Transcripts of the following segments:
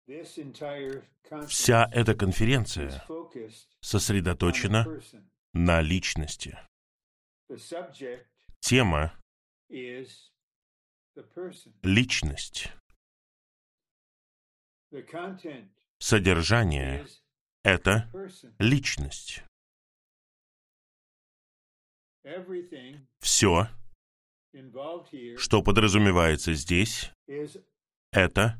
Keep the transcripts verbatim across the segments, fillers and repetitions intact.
Вся эта конференция сосредоточена на личности. Тема — личность. Содержание — это личность. Все, что подразумевается здесь, это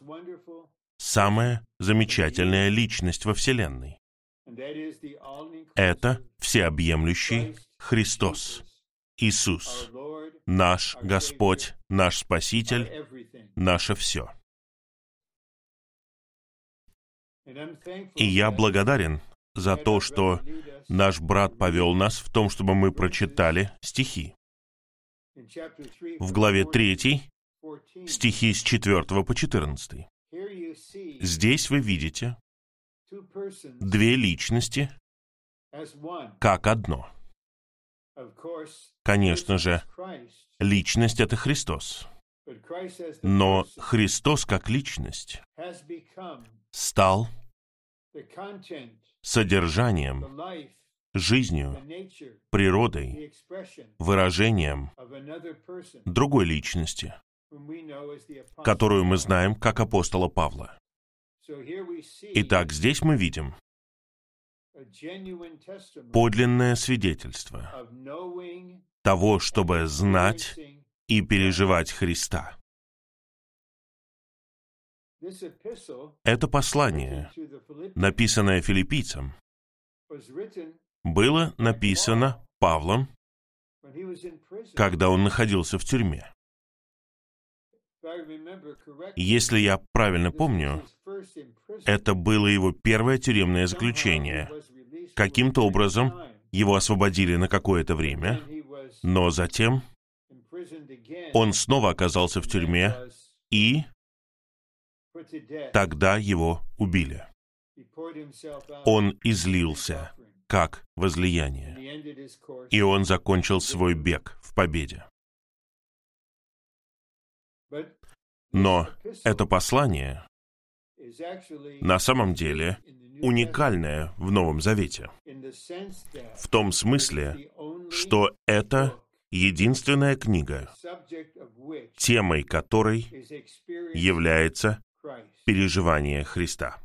самая замечательная личность во Вселенной. Это всеобъемлющий Христос, Иисус, наш Господь, наш Спаситель, наше все. И я благодарен за то, что наш брат повел нас в том, чтобы мы прочитали стихи. В главе третьей стихи с четвёртого по четырнадцатый. Здесь вы видите две личности как одно. Конечно же, личность — это Христос. Но Христос как личность стал содержанием, жизнью, природой, выражением другой личности, которую мы знаем как апостола Павла. Итак, здесь мы видим подлинное свидетельство того, чтобы знать и переживать Христа. Это послание, написанное филиппийцам, было написано Павлом, когда он находился в тюрьме. Если я правильно помню, это было его первое тюремное заключение. Каким-то образом его освободили на какое-то время, но затем он снова оказался в тюрьме, и тогда его убили. Он излился как возлияние, и он закончил свой бег в победе. Но это послание на самом деле уникальное в Новом Завете, в том смысле, что это единственная книга, темой которой является переживание Христа.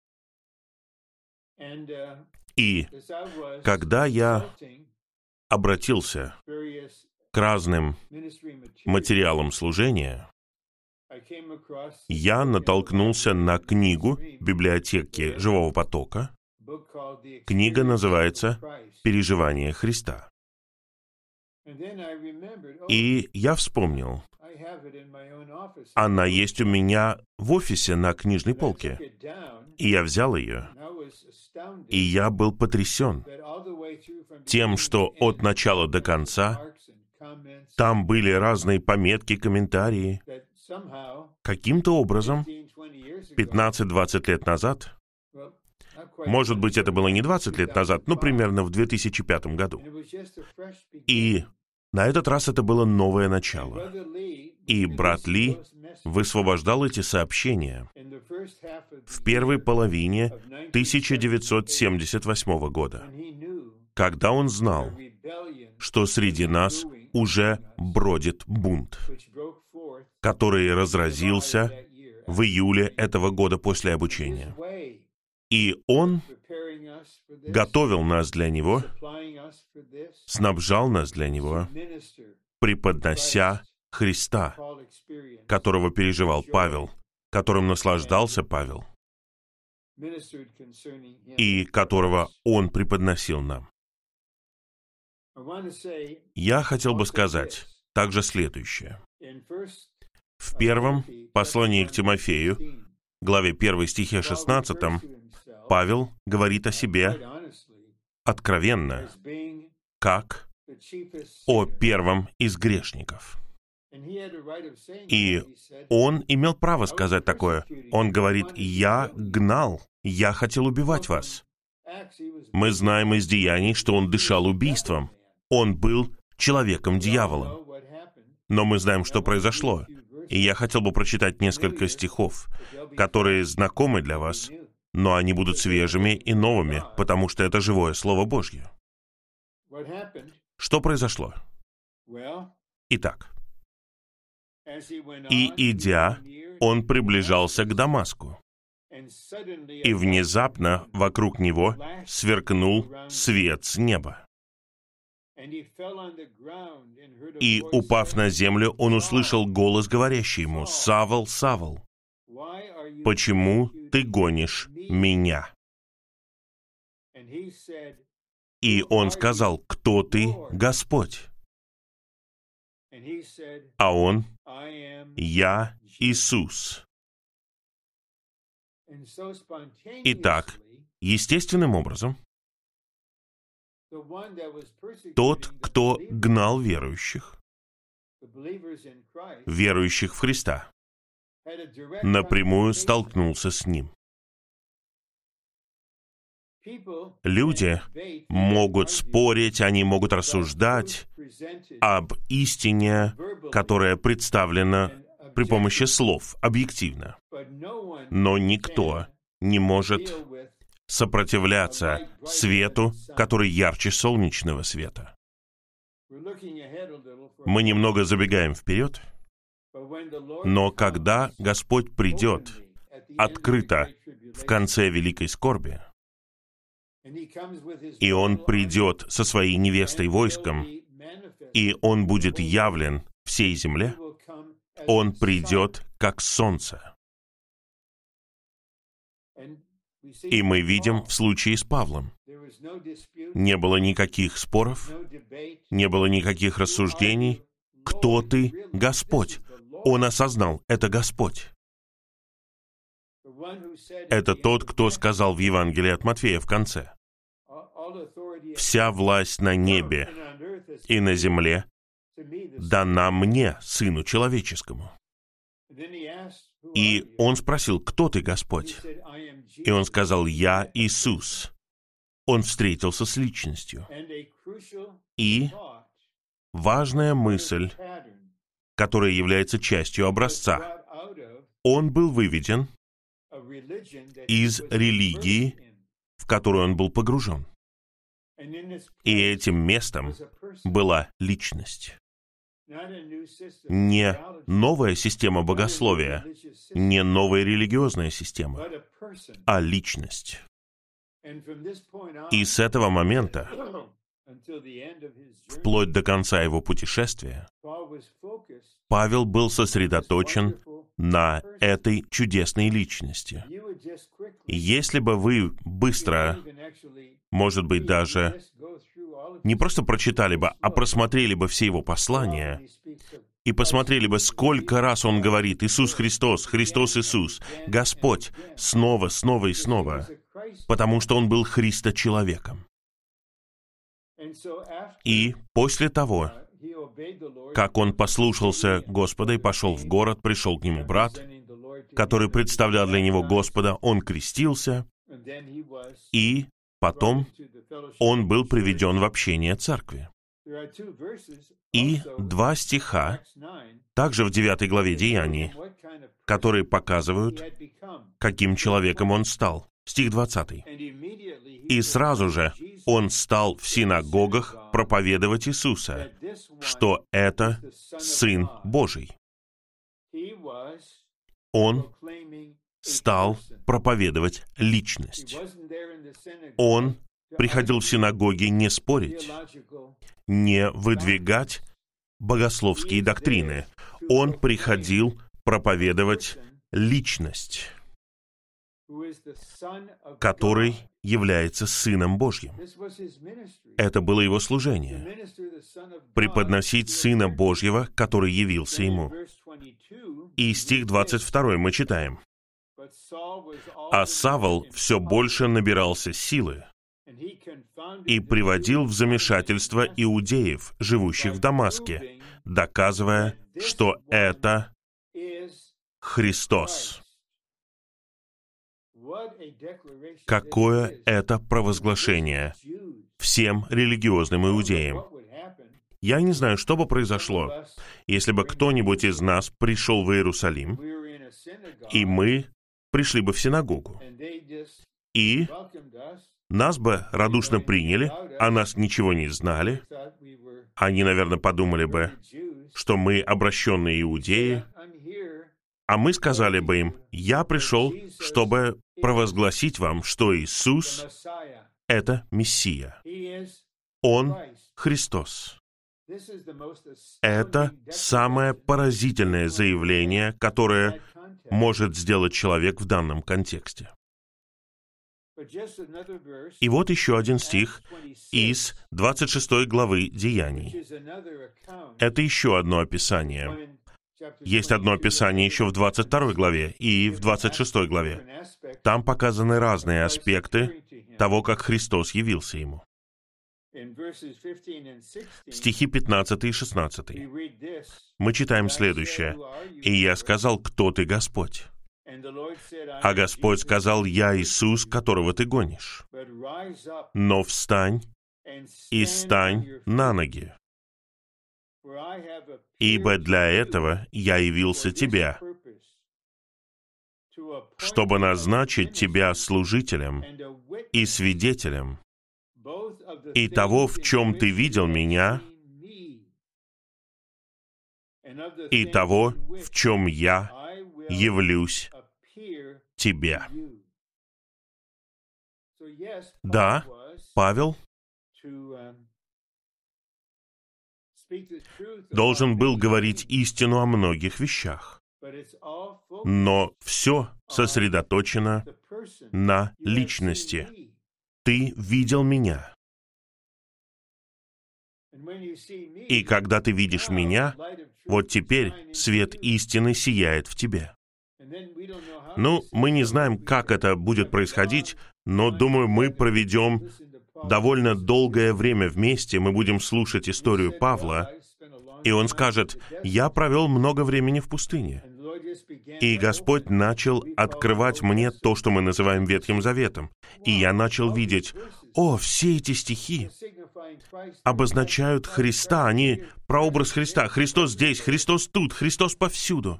И когда я обратился к разным материалам служения, я натолкнулся на книгу библиотеки Живого Потока. Книга называется «Переживание Христа». И я вспомнил, она есть у меня в офисе на книжной полке. И я взял ее, и я был потрясен тем, что от начала до конца там были разные пометки, комментарии. Каким-то образом, пятнадцать-двадцать лет назад, может быть, это было не двадцать лет назад, но примерно в две тысячи пятом году. И на этот раз это было новое начало. И брат Ли высвобождал эти сообщения в первой половине тысяча девятьсот семьдесят восьмого года, когда он знал, что среди нас уже бродит бунт, который разразился в июле этого года после обучения. И он готовил нас для него, снабжал нас для него, преподнося Христа, которого переживал Павел, которым наслаждался Павел, и которого он преподносил нам. Я хотел бы сказать также следующее. В первом послании к Тимофею, главе первой, стихе шестнадцатом, Павел говорит о себе откровенно, как о первом из грешников. И он имел право сказать такое. Он говорит: «Я гнал, я хотел убивать вас». Мы знаем из деяний, что он дышал убийством. Он был человеком-дьяволом. Но мы знаем, что произошло. И я хотел бы прочитать несколько стихов, которые знакомы для вас, но они будут свежими и новыми, потому что это живое Слово Божье. Что произошло? Итак, «И, идя, он приближался к Дамаску, и внезапно вокруг него сверкнул свет с неба. И, упав на землю, он услышал голос, говорящий ему: „Савл, Савл, почему ты гонишь меня?“ И он сказал: „Кто ты, Господь?“ А он: „Я Иисус“. Итак, естественным образом, тот, кто гнал верующих, верующих в Христа, напрямую столкнулся с ним. Люди могут спорить, они могут рассуждать об истине, которая представлена при помощи слов, объективно. Но никто не может сопротивляться свету, который ярче солнечного света. Мы немного забегаем вперед, но когда Господь придет открыто в конце великой скорби, и Он придет со своей невестой войском, и Он будет явлен всей земле, Он придет как солнце. И мы видим в случае с Павлом. Не было никаких споров, не было никаких рассуждений. Кто ты, Господь? Он осознал, это Господь. Это тот, кто сказал в Евангелии от Матфея в конце: «Вся власть на небе и на земле дана мне, Сыну Человеческому». И он спросил: «Кто ты, Господь?» И он сказал: «Я Иисус». Он встретился с личностью. И важная мысль, которая является частью образца, он был выведен из религии, в которую он был погружен. И этим местом была личность. Не новая система богословия, не новая религиозная система, а личность. И с этого момента, вплоть до конца его путешествия, Павел был сосредоточен на этой чудесной личности. Если бы вы быстро, может быть, даже не просто прочитали бы, а просмотрели бы все его послания и посмотрели бы, сколько раз он говорит: «Иисус Христос, Христос Иисус, Господь», снова, снова и снова, потому что он был Христочеловеком. И после того, как он послушался Господа и пошел в город, пришел к нему брат, который представлял для него Господа, он крестился, и потом он был приведен в общение церкви. И два стиха, также в девятой главе Деяний, которые показывают, каким человеком он стал. Стих двадцатый. «И сразу же он стал в синагогах проповедовать Иисуса, что это Сын Божий». Он стал проповедовать личность. Он приходил в синагоги не спорить, не выдвигать богословские доктрины. Он приходил проповедовать личность, который является Сыном Божьим. Это было его служение — преподносить Сына Божьего, который явился ему. И стих двадцать второй мы читаем: «А Савл все больше набирался силы и приводил в замешательство иудеев, живущих в Дамаске, доказывая, что это Христос». Какое это провозглашение всем религиозным иудеям! Я не знаю, что бы произошло, если бы кто-нибудь из нас пришел в Иерусалим, и мы пришли бы в синагогу, и нас бы радушно приняли, о нас ничего не знали. Они, наверное, подумали бы, что мы обращенные иудеи, а мы сказали бы им: «Я пришел, чтобы провозгласить вам, что Иисус — это Мессия. Он — Христос». Это самое поразительное заявление, которое может сделать человек в данном контексте. И вот еще один стих из двадцать шестой главы Деяний. Это еще одно описание. Есть одно описание еще в двадцать второй главе и в двадцать шестой главе. Там показаны разные аспекты того, как Христос явился ему. Стихи пятнадцатый и шестнадцатый. Мы читаем следующее. «И я сказал: кто ты, Господь? А Господь сказал: я Иисус, которого ты гонишь. Но встань и стань на ноги, ибо для этого я явился тебе, чтобы назначить тебя служителем и свидетелем и того, в чем ты видел меня, и того, в чем я явлюсь тебе». Да, Павел должен был говорить истину о многих вещах, но все сосредоточено на личности. Ты видел меня. И когда ты видишь меня, вот теперь свет истины сияет в тебе. Ну, мы не знаем, как это будет происходить, но, думаю, мы проведем довольно долгое время вместе, мы будем слушать историю Павла, и он скажет: «Я провел много времени в пустыне». И Господь начал открывать мне то, что мы называем Ветхим Заветом. И я начал видеть: о, все эти стихи обозначают Христа, они прообраз Христа. Христос здесь, Христос тут, Христос повсюду.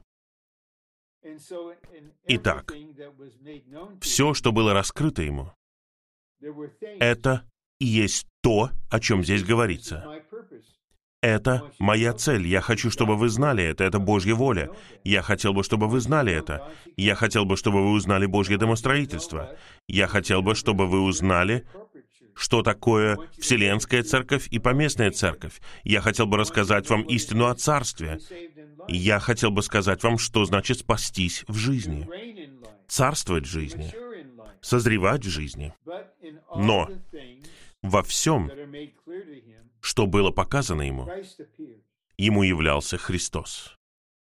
Итак, все, что было раскрыто ему, это и есть то, о чем здесь говорится. Это моя цель. Я хочу, чтобы вы знали это. Это Божья воля. Я хотел бы, чтобы вы знали это. Я хотел бы, чтобы вы узнали Божье домостроительство. Я хотел бы, чтобы вы узнали, что такое Вселенская Церковь и Поместная Церковь. Я хотел бы рассказать вам истину о Царстве. Я хотел бы сказать вам, что значит спастись в жизни, царствовать в жизни, созревать в жизни. Но во всем, что было показано ему, ему являлся Христос.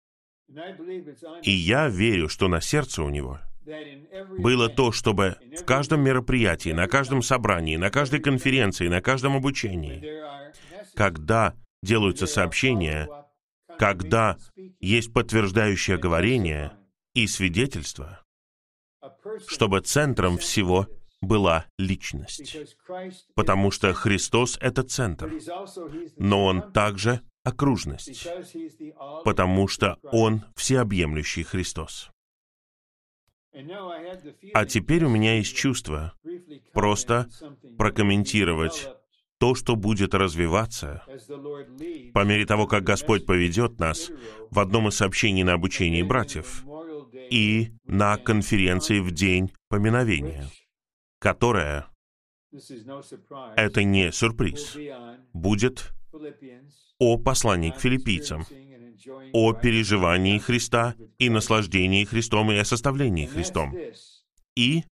И я верю, что на сердце у него было то, чтобы в каждом мероприятии, на каждом собрании, на каждой конференции, на каждом обучении, когда делаются сообщения, когда есть подтверждающее говорение и свидетельство, чтобы центром всего была личность. Потому что Христос — это центр, но Он также окружность, потому что Он всеобъемлющий Христос. А теперь у меня есть чувство просто прокомментировать то, что будет развиваться по мере того, как Господь поведет нас в одном из сообщений на обучении братьев и на конференции в День поминовения, которая, это не сюрприз, будет о послании к филиппийцам, о переживании Христа и наслаждении Христом и о составлении Христом. И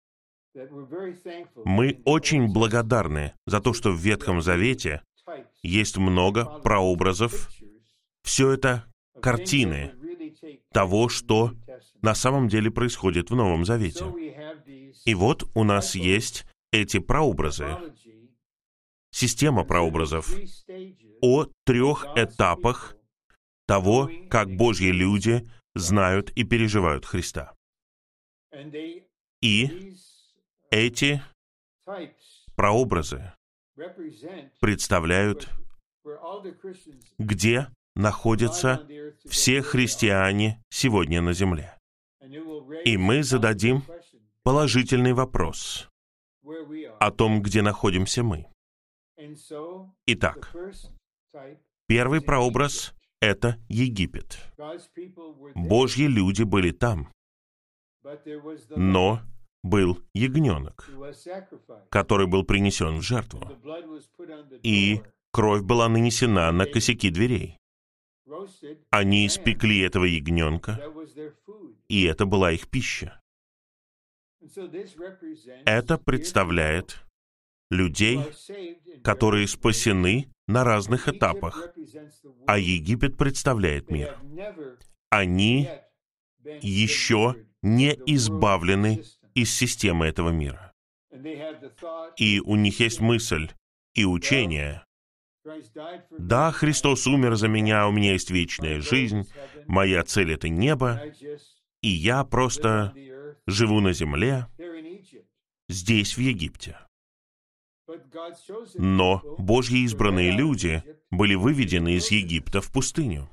мы очень благодарны за то, что в Ветхом Завете есть много прообразов. Все это картины того, что на самом деле происходит в Новом Завете. И вот у нас есть эти прообразы, система прообразов о трех этапах того, как Божьи люди знают и переживают Христа. И эти прообразы представляют где находятся все христиане сегодня на земле. И мы зададим положительный вопрос о том, где находимся мы. Итак, первый прообраз — это Египет. Божьи люди были там, но был ягненок, который был принесен в жертву, и кровь была нанесена на косяки дверей. Они испекли этого ягненка, и это была их пища. Это представляет людей, которые спасены на разных этапах, а Египет представляет мир. Они еще не избавлены из системы этого мира. И у них есть мысль и учение. Да, Христос умер за меня, у меня есть вечная жизнь, моя цель — это небо, и я просто живу на земле, здесь, в Египте. Но Божьи избранные люди были выведены из Египта в пустыню.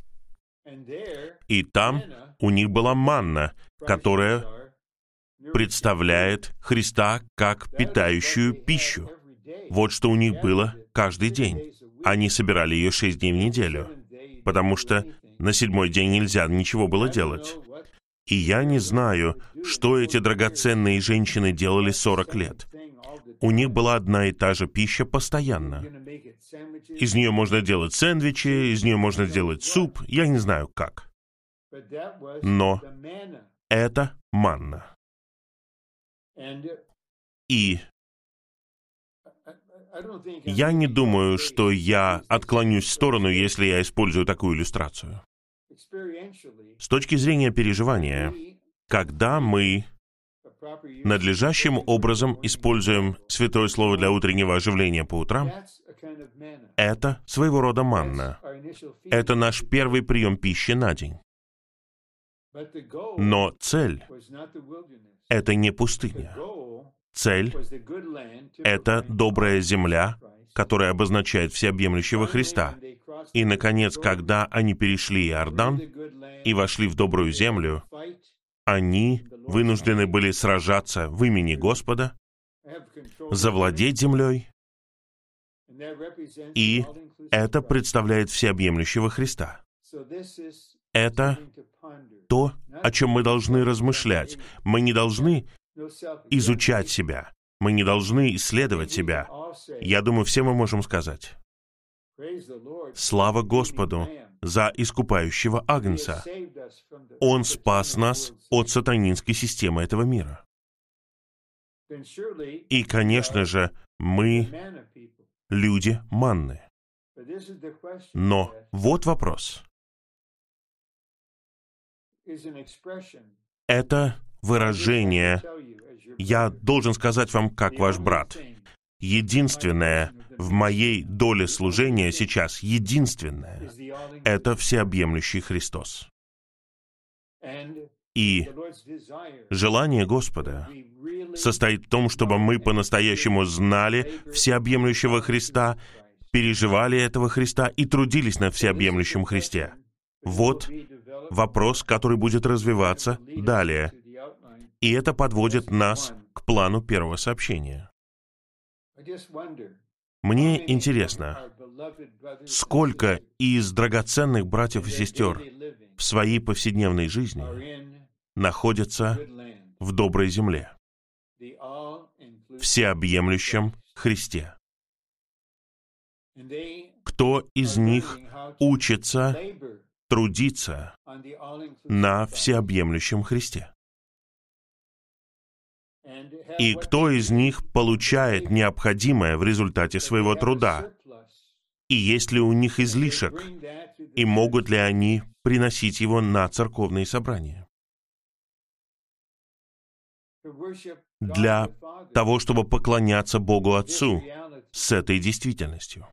И там у них была манна, которая представляет Христа как питающую пищу. Вот что у них было каждый день. Они собирали ее шесть дней в неделю, потому что на седьмой день нельзя ничего было делать. И я не знаю, что эти драгоценные женщины делали сорок лет. У них была одна и та же пища постоянно. Из нее можно делать сэндвичи, из нее можно делать суп, я не знаю как. Но это манна. И я не думаю, что я отклонюсь в сторону, если я использую такую иллюстрацию. С точки зрения переживания, когда мы надлежащим образом используем Святое Слово для утреннего оживления по утрам, это своего рода манна. Это наш первый прием пищи на день. Но цель — это не пустыня. Цель — это добрая земля, которая обозначает всеобъемлющего Христа. И, наконец, когда они перешли Иордан и вошли в добрую землю, они вынуждены были сражаться в имени Господа, завладеть землей, и это представляет всеобъемлющего Христа. Это то, о чем мы должны размышлять. Мы не должны изучать себя. Мы не должны исследовать себя. Я думаю, все мы можем сказать: слава Господу за искупающего Агнца. Он спас нас от сатанинской системы этого мира. И, конечно же, мы люди манны. Но вот вопрос. Это выражение, я должен сказать вам, как ваш брат, единственное в моей доле служения сейчас, единственное, это всеобъемлющий Христос. И желание Господа состоит в том, чтобы мы по-настоящему знали всеобъемлющего Христа, переживали этого Христа и трудились на всеобъемлющем Христе. Вот вопрос, который будет развиваться далее. И это подводит нас к плану первого сообщения. Мне интересно, сколько из драгоценных братьев и сестер в своей повседневной жизни находятся в доброй земле, всеобъемлющем Христе. Кто из них учится трудиться на всеобъемлющем Христе? И кто из них получает необходимое в результате своего труда? И есть ли у них излишек? И могут ли они приносить его на церковные собрания? Для того, чтобы поклоняться Богу Отцу с этой действительностью.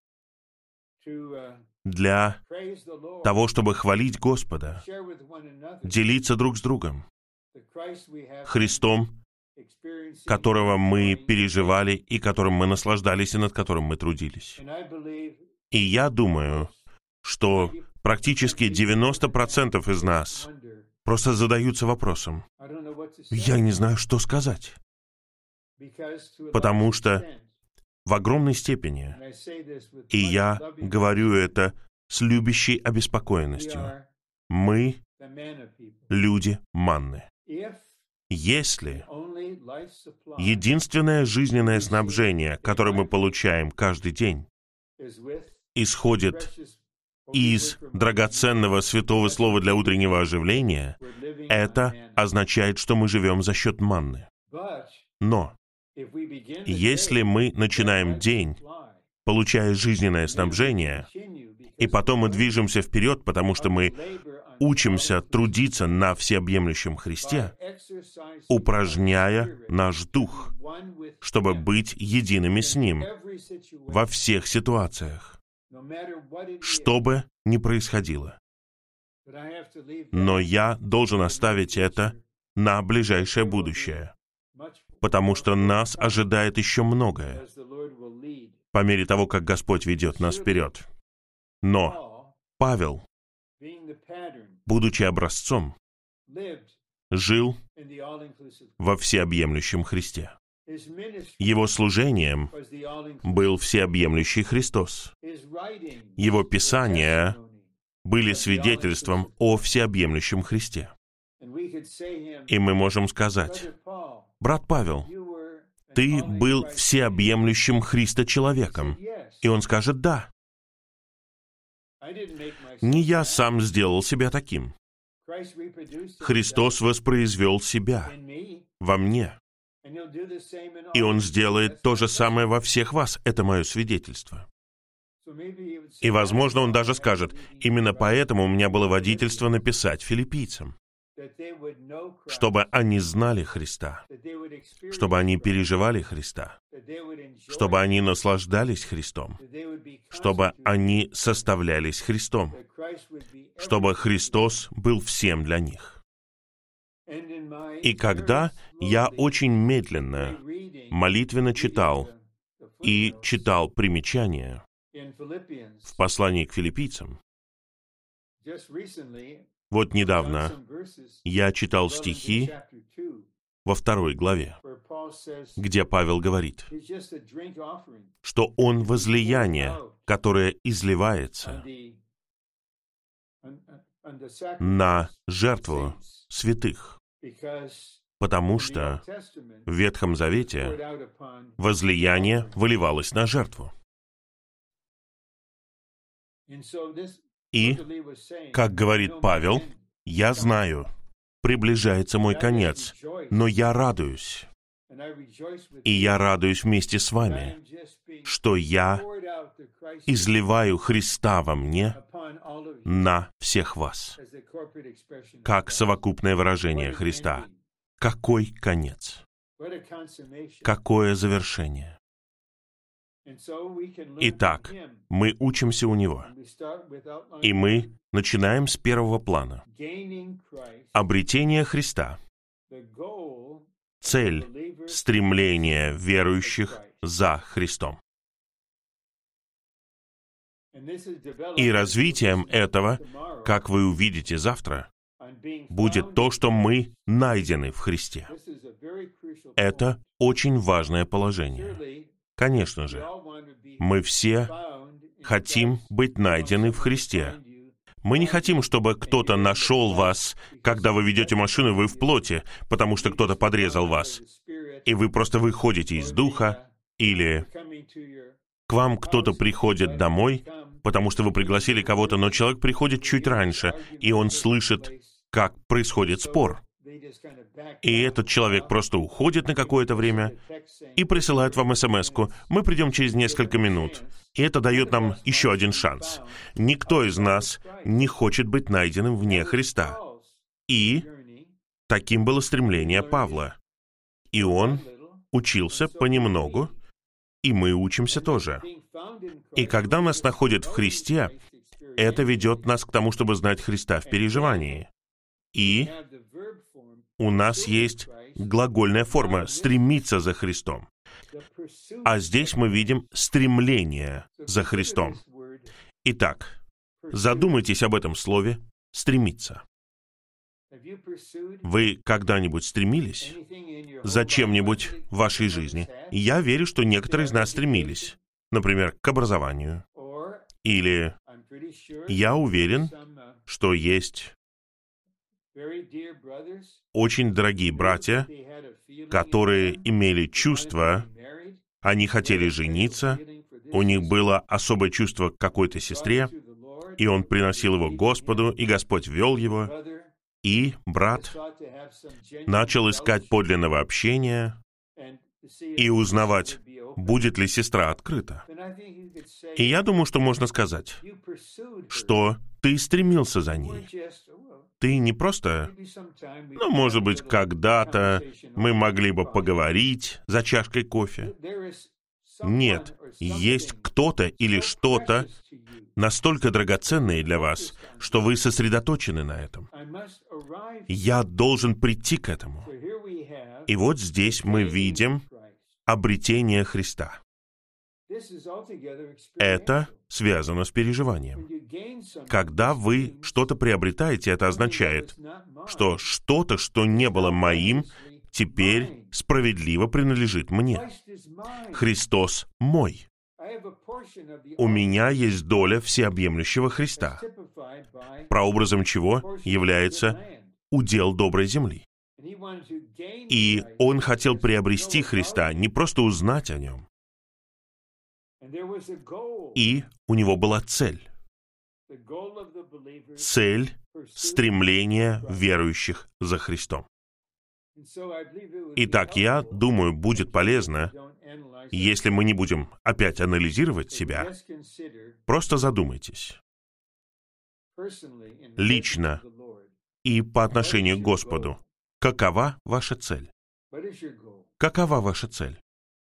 Для того, чтобы хвалить Господа, делиться друг с другом Христом, которого мы переживали и которым мы наслаждались и над которым мы трудились. И я думаю, что практически девяносто процентов из нас просто задаются вопросом: я не знаю, что сказать. Потому что в огромной степени, и я говорю это с любящей обеспокоенностью, мы люди манны. Если единственное жизненное снабжение, которое мы получаем каждый день, исходит из драгоценного святого слова для утреннего оживления, это означает, что мы живем за счет манны. Но если мы начинаем день, получая жизненное снабжение, и потом мы движемся вперед, потому что мы учимся трудиться на всеобъемлющем Христе, упражняя наш дух, чтобы быть едиными с Ним во всех ситуациях, что бы ни происходило. Но я должен оставить это на ближайшее будущее, потому что нас ожидает еще многое, по мере того, как Господь ведет нас вперед. Но Павел, будучи образцом, жил во всеобъемлющем Христе. Его служением был всеобъемлющий Христос. Его писания были свидетельством о всеобъемлющем Христе. И мы можем сказать: брат Павел, ты был всеобъемлющим Христо-человеком. И он скажет: да. Не я сам сделал себя таким. Христос воспроизвел себя во мне. И Он сделает то же самое во всех вас. Это мое свидетельство. И, возможно, Он даже скажет: именно поэтому у меня было водительство написать филиппийцам, чтобы они знали Христа, чтобы они переживали Христа, чтобы они наслаждались Христом, чтобы они составлялись Христом, чтобы Христос был всем для них. И когда я очень медленно, молитвенно читал и читал примечания в послании к филиппийцам, вот недавно я читал стихи во второй главе, где Павел говорит, что он возлияние, которое изливается на жертву святых, потому что в Ветхом Завете возлияние выливалось на жертву. И, как говорит Павел, я знаю, приближается мой конец, но я радуюсь. И я радуюсь вместе с вами, что я изливаю Христа во мне на всех вас, как совокупное выражение Христа. Какой конец? Какое завершение? Итак, мы учимся у Него, и мы начинаем с первого плана. Обретение Христа. Цель стремления верующих за Христом. И развитием этого, как вы увидите завтра, будет то, что мы найдены в Христе. Это очень важное положение. Конечно же, мы все хотим быть найдены в Христе. Мы не хотим, чтобы кто-то нашел вас, когда вы ведете машину, вы в плоти, потому что кто-то подрезал вас, и вы просто выходите из духа, или к вам кто-то приходит домой, потому что вы пригласили кого-то, но человек приходит чуть раньше, и он слышит, как происходит спор. И этот человек просто уходит на какое-то время и присылает вам смс-ку: «Мы придем через несколько минут». И это дает нам еще один шанс. Никто из нас не хочет быть найденным вне Христа. И таким было стремление Павла. И он учился понемногу, и мы учимся тоже. И когда нас находят в Христе, это ведет нас к тому, чтобы знать Христа в переживании. И у нас есть глагольная форма «стремиться за Христом». А здесь мы видим стремление за Христом. Итак, задумайтесь об этом слове «стремиться». Вы когда-нибудь стремились за чем-нибудь в вашей жизни? Я верю, что некоторые из нас стремились, например, к образованию. Или я уверен, что есть очень дорогие братья, которые имели чувство, они хотели жениться, у них было особое чувство к какой-то сестре, и он приносил его к Господу, и Господь вел его, и брат начал искать подлинного общения и узнавать, будет ли сестра открыта. И я думаю, что можно сказать, что ты стремился за ней. Ты не просто, ну, может быть, когда-то мы могли бы поговорить за чашкой кофе. Нет, есть кто-то или что-то настолько драгоценное для вас, что вы сосредоточены на этом. Я должен прийти к этому. И вот здесь мы видим обретение Христа. Это связано с переживанием. Когда вы что-то приобретаете, это означает, что что-то, что не было моим, теперь справедливо принадлежит мне. Христос мой. У меня есть доля всеобъемлющего Христа, прообразом чего является удел доброй земли. И Он хотел приобрести Христа, не просто узнать о Нем. И у Него была цель. Цель стремления верующих за Христом. Итак, я думаю, будет полезно, если мы не будем опять анализировать себя, просто задумайтесь. Лично и по отношению к Господу, какова ваша цель? Какова ваша цель?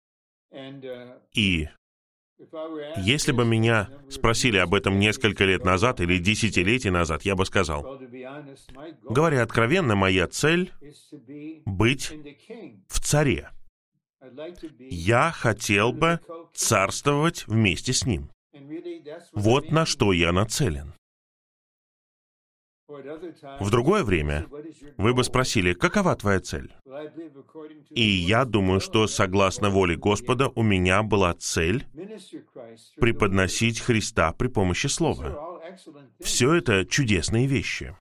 И если бы меня спросили об этом несколько лет назад или десятилетий назад, я бы сказал, говоря откровенно, моя цель — быть в царе. Я хотел бы царствовать вместе с Ним. Вот на что я нацелен. В другое время вы бы спросили, какова твоя цель? И я думаю, что согласно воле Господа у меня была цель преподносить Христа при помощи Слова. Все это чудесные вещи.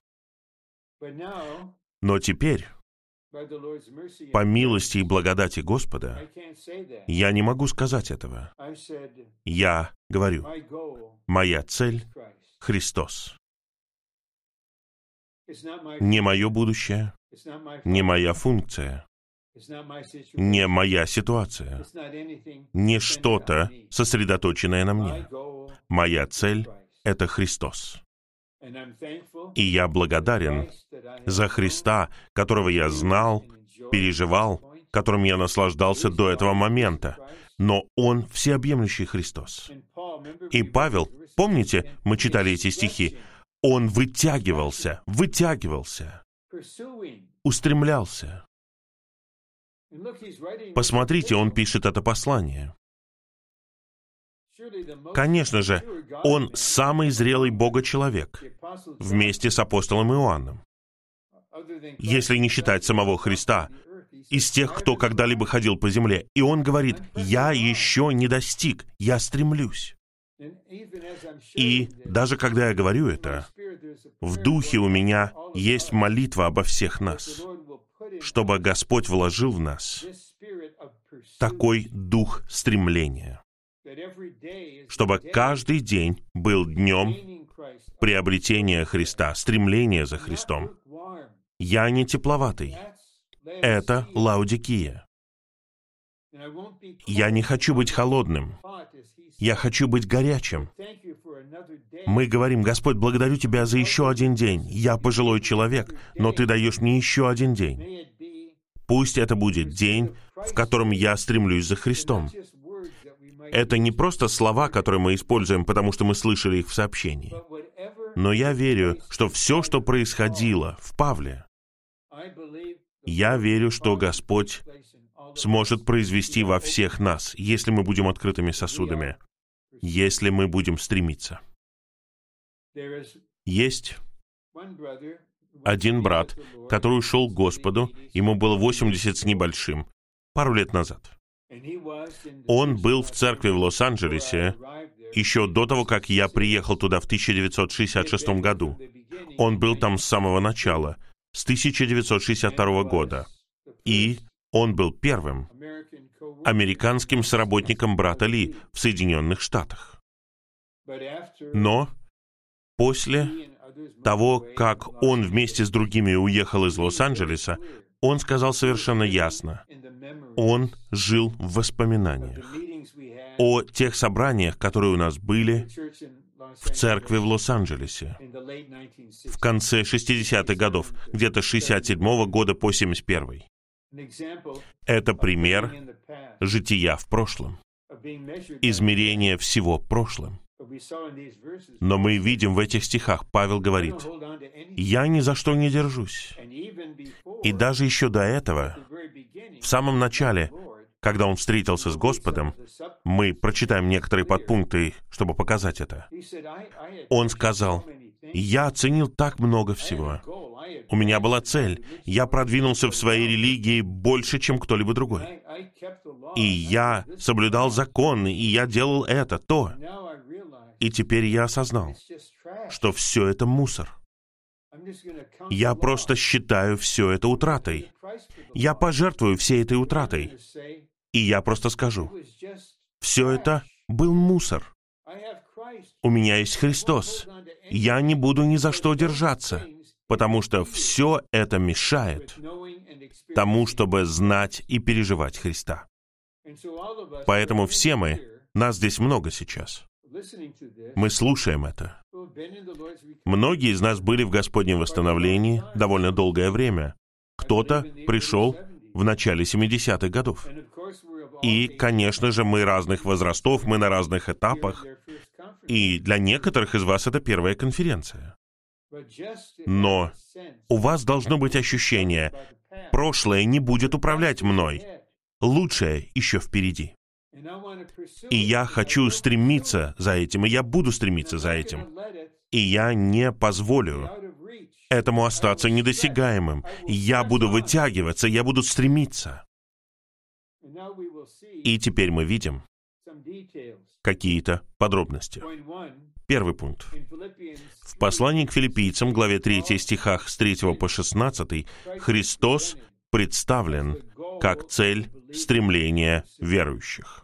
Но теперь, по милости и благодати Господа, я не могу сказать этого. Я говорю, моя цель — Христос. Не мое будущее, не моя функция, не моя ситуация, не что-то, сосредоточенное на мне. Моя цель — это Христос. И я благодарен за Христа, которого я знал, переживал, которым я наслаждался до этого момента. Но Он всеобъемлющий Христос. И Павел, помните, мы читали эти стихи, Он вытягивался, вытягивался, устремлялся. Посмотрите, он пишет это послание. Конечно же, он самый зрелый Бога-человек вместе с апостолом Иоанном. Если не считать самого Христа, из тех, кто когда-либо ходил по земле. И он говорит, я еще не достиг, я стремлюсь. И даже когда я говорю это, в духе у меня есть молитва обо всех нас, чтобы Господь вложил в нас такой дух стремления, чтобы каждый день был днем приобретения Христа, стремления за Христом. Я не тепловатый. Это Лаодикия. Я не хочу быть холодным. Я хочу быть горячим. Мы говорим, Господь, благодарю Тебя за еще один день. Я пожилой человек, но Ты даешь мне еще один день. Пусть это будет день, в котором я стремлюсь за Христом. Это не просто слова, которые мы используем, потому что мы слышали их в сообщении. Но я верю, что все, что происходило в Павле, я верю, что Господь сможет произвести во всех нас, если мы будем открытыми сосудами, если мы будем стремиться. Есть один брат, который ушел к Господу, ему было восемьдесят с небольшим, пару лет назад. Он был в церкви в Лос-Анджелесе еще до того, как я приехал туда в тысяча девятьсот шестьдесят шестом году. Он был там с самого начала, с тысяча девятьсот шестьдесят второго года. И он был первым американским соработником брата Ли в Соединенных Штатах. Но после того, как он вместе с другими уехал из Лос-Анджелеса, он сказал совершенно ясно, он жил в воспоминаниях о тех собраниях, которые у нас были в церкви в Лос-Анджелесе в конце шестидесятых годов, где-то с шестьдесят седьмого года по семьдесят первый. Это пример жития в прошлом, измерение всего прошлым. Но мы видим в этих стихах, Павел говорит, «Я ни за что не держусь». И даже еще до этого, в самом начале, когда он встретился с Господом, мы прочитаем некоторые подпункты, чтобы показать это. Он сказал, «Я оценил так много всего. У меня была цель. Я продвинулся в своей религии больше, чем кто-либо другой. И я соблюдал законы, и я делал это, то. И теперь я осознал, что все это мусор. Я просто считаю все это утратой. Я пожертвую всей этой утратой. И я просто скажу, все это был мусор. У меня есть Христос. Я не буду ни за что держаться, потому что все это мешает тому, чтобы знать и переживать Христа. Поэтому все мы, нас здесь много сейчас, мы слушаем это. Многие из нас были в Господнем восстановлении довольно долгое время. Кто-то пришел в начале семидесятых годов. И, конечно же, мы разных возрастов, мы на разных этапах. И для некоторых из вас это первая конференция. Но у вас должно быть ощущение, прошлое не будет управлять мной. Лучшее еще впереди. И я хочу стремиться за этим, и я буду стремиться за этим. И я не позволю этому остаться недосягаемым. Я буду вытягиваться, я буду стремиться. И теперь мы видим какие-то подробности. Первый пункт. В послании к Филиппийцам, главе третьей, стихах с третьего по шестнадцатый, Христос представлен как цель стремления верующих.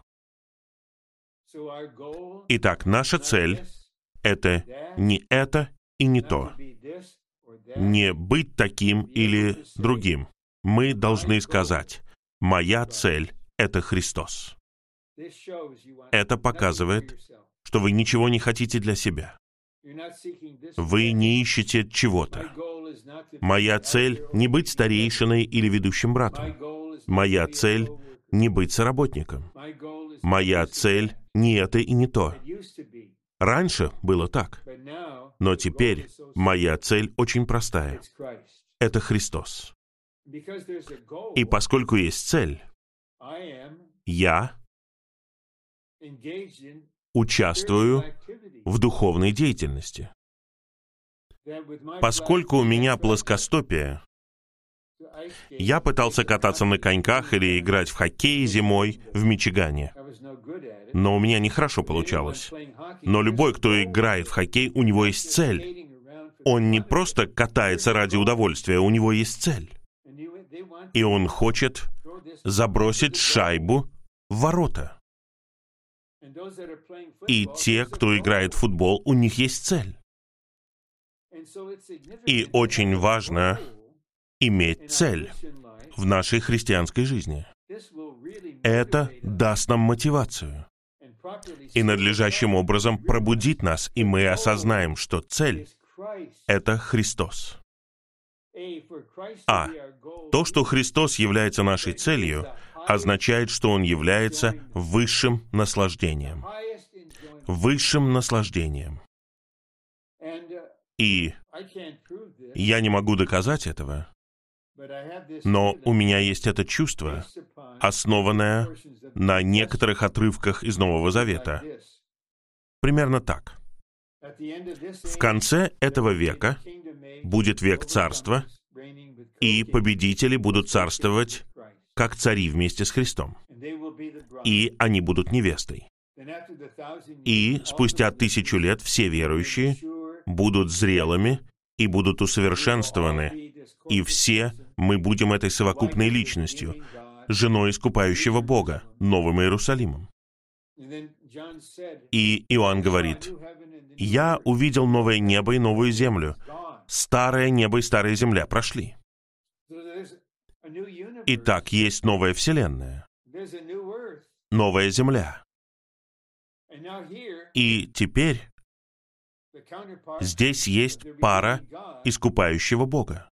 Итак, наша цель — это не это и не то. Не быть таким или другим. Мы должны сказать, моя цель — это Христос. Это показывает, что вы ничего не хотите для себя. Вы не ищете чего-то. Моя цель — не быть старейшиной или ведущим братом. Моя цель — не быть соработником. Моя цель — не это и не то. Раньше было так. Но теперь моя цель очень простая. Это Христос. И поскольку есть цель, я участвую в духовной деятельности. Поскольку у меня плоскостопие, я пытался кататься на коньках или играть в хоккей зимой в Мичигане. Но у меня нехорошо получалось. Но любой, кто играет в хоккей, у него есть цель. Он не просто катается ради удовольствия, у него есть цель. И он хочет забросить шайбу в ворота. И те, кто играет в футбол, у них есть цель. И очень важно иметь цель в нашей христианской жизни. Это даст нам мотивацию и надлежащим образом пробудит нас, и мы осознаем, что цель — это Христос. А то, что Христос является нашей целью, означает, что Он является высшим наслаждением. Высшим наслаждением. И я не могу доказать этого, но у меня есть это чувство, основанное на некоторых отрывках из Нового Завета. Примерно так. В конце этого века будет век царства, и победители будут царствовать как цари вместе с Христом. И они будут невестой. И спустя тысячу лет все верующие будут зрелыми и будут усовершенствованы. И все мы будем этой совокупной личностью, женой искупающего Бога, Новым Иерусалимом. И Иоанн говорит: «Я увидел новое небо и новую землю. Старое небо и старая земля прошли». Итак, есть новая вселенная, новая земля. И теперь здесь есть пара искупающего Бога.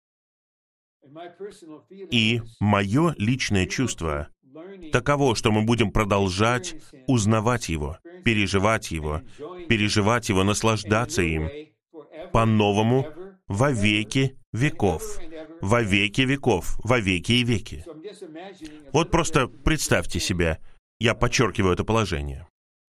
И мое личное чувство таково, что мы будем продолжать узнавать Его, переживать Его, переживать Его, наслаждаться им по-новому во веки веков, во веки веков, во веки и веки. Вот просто представьте себе, я подчеркиваю это положение.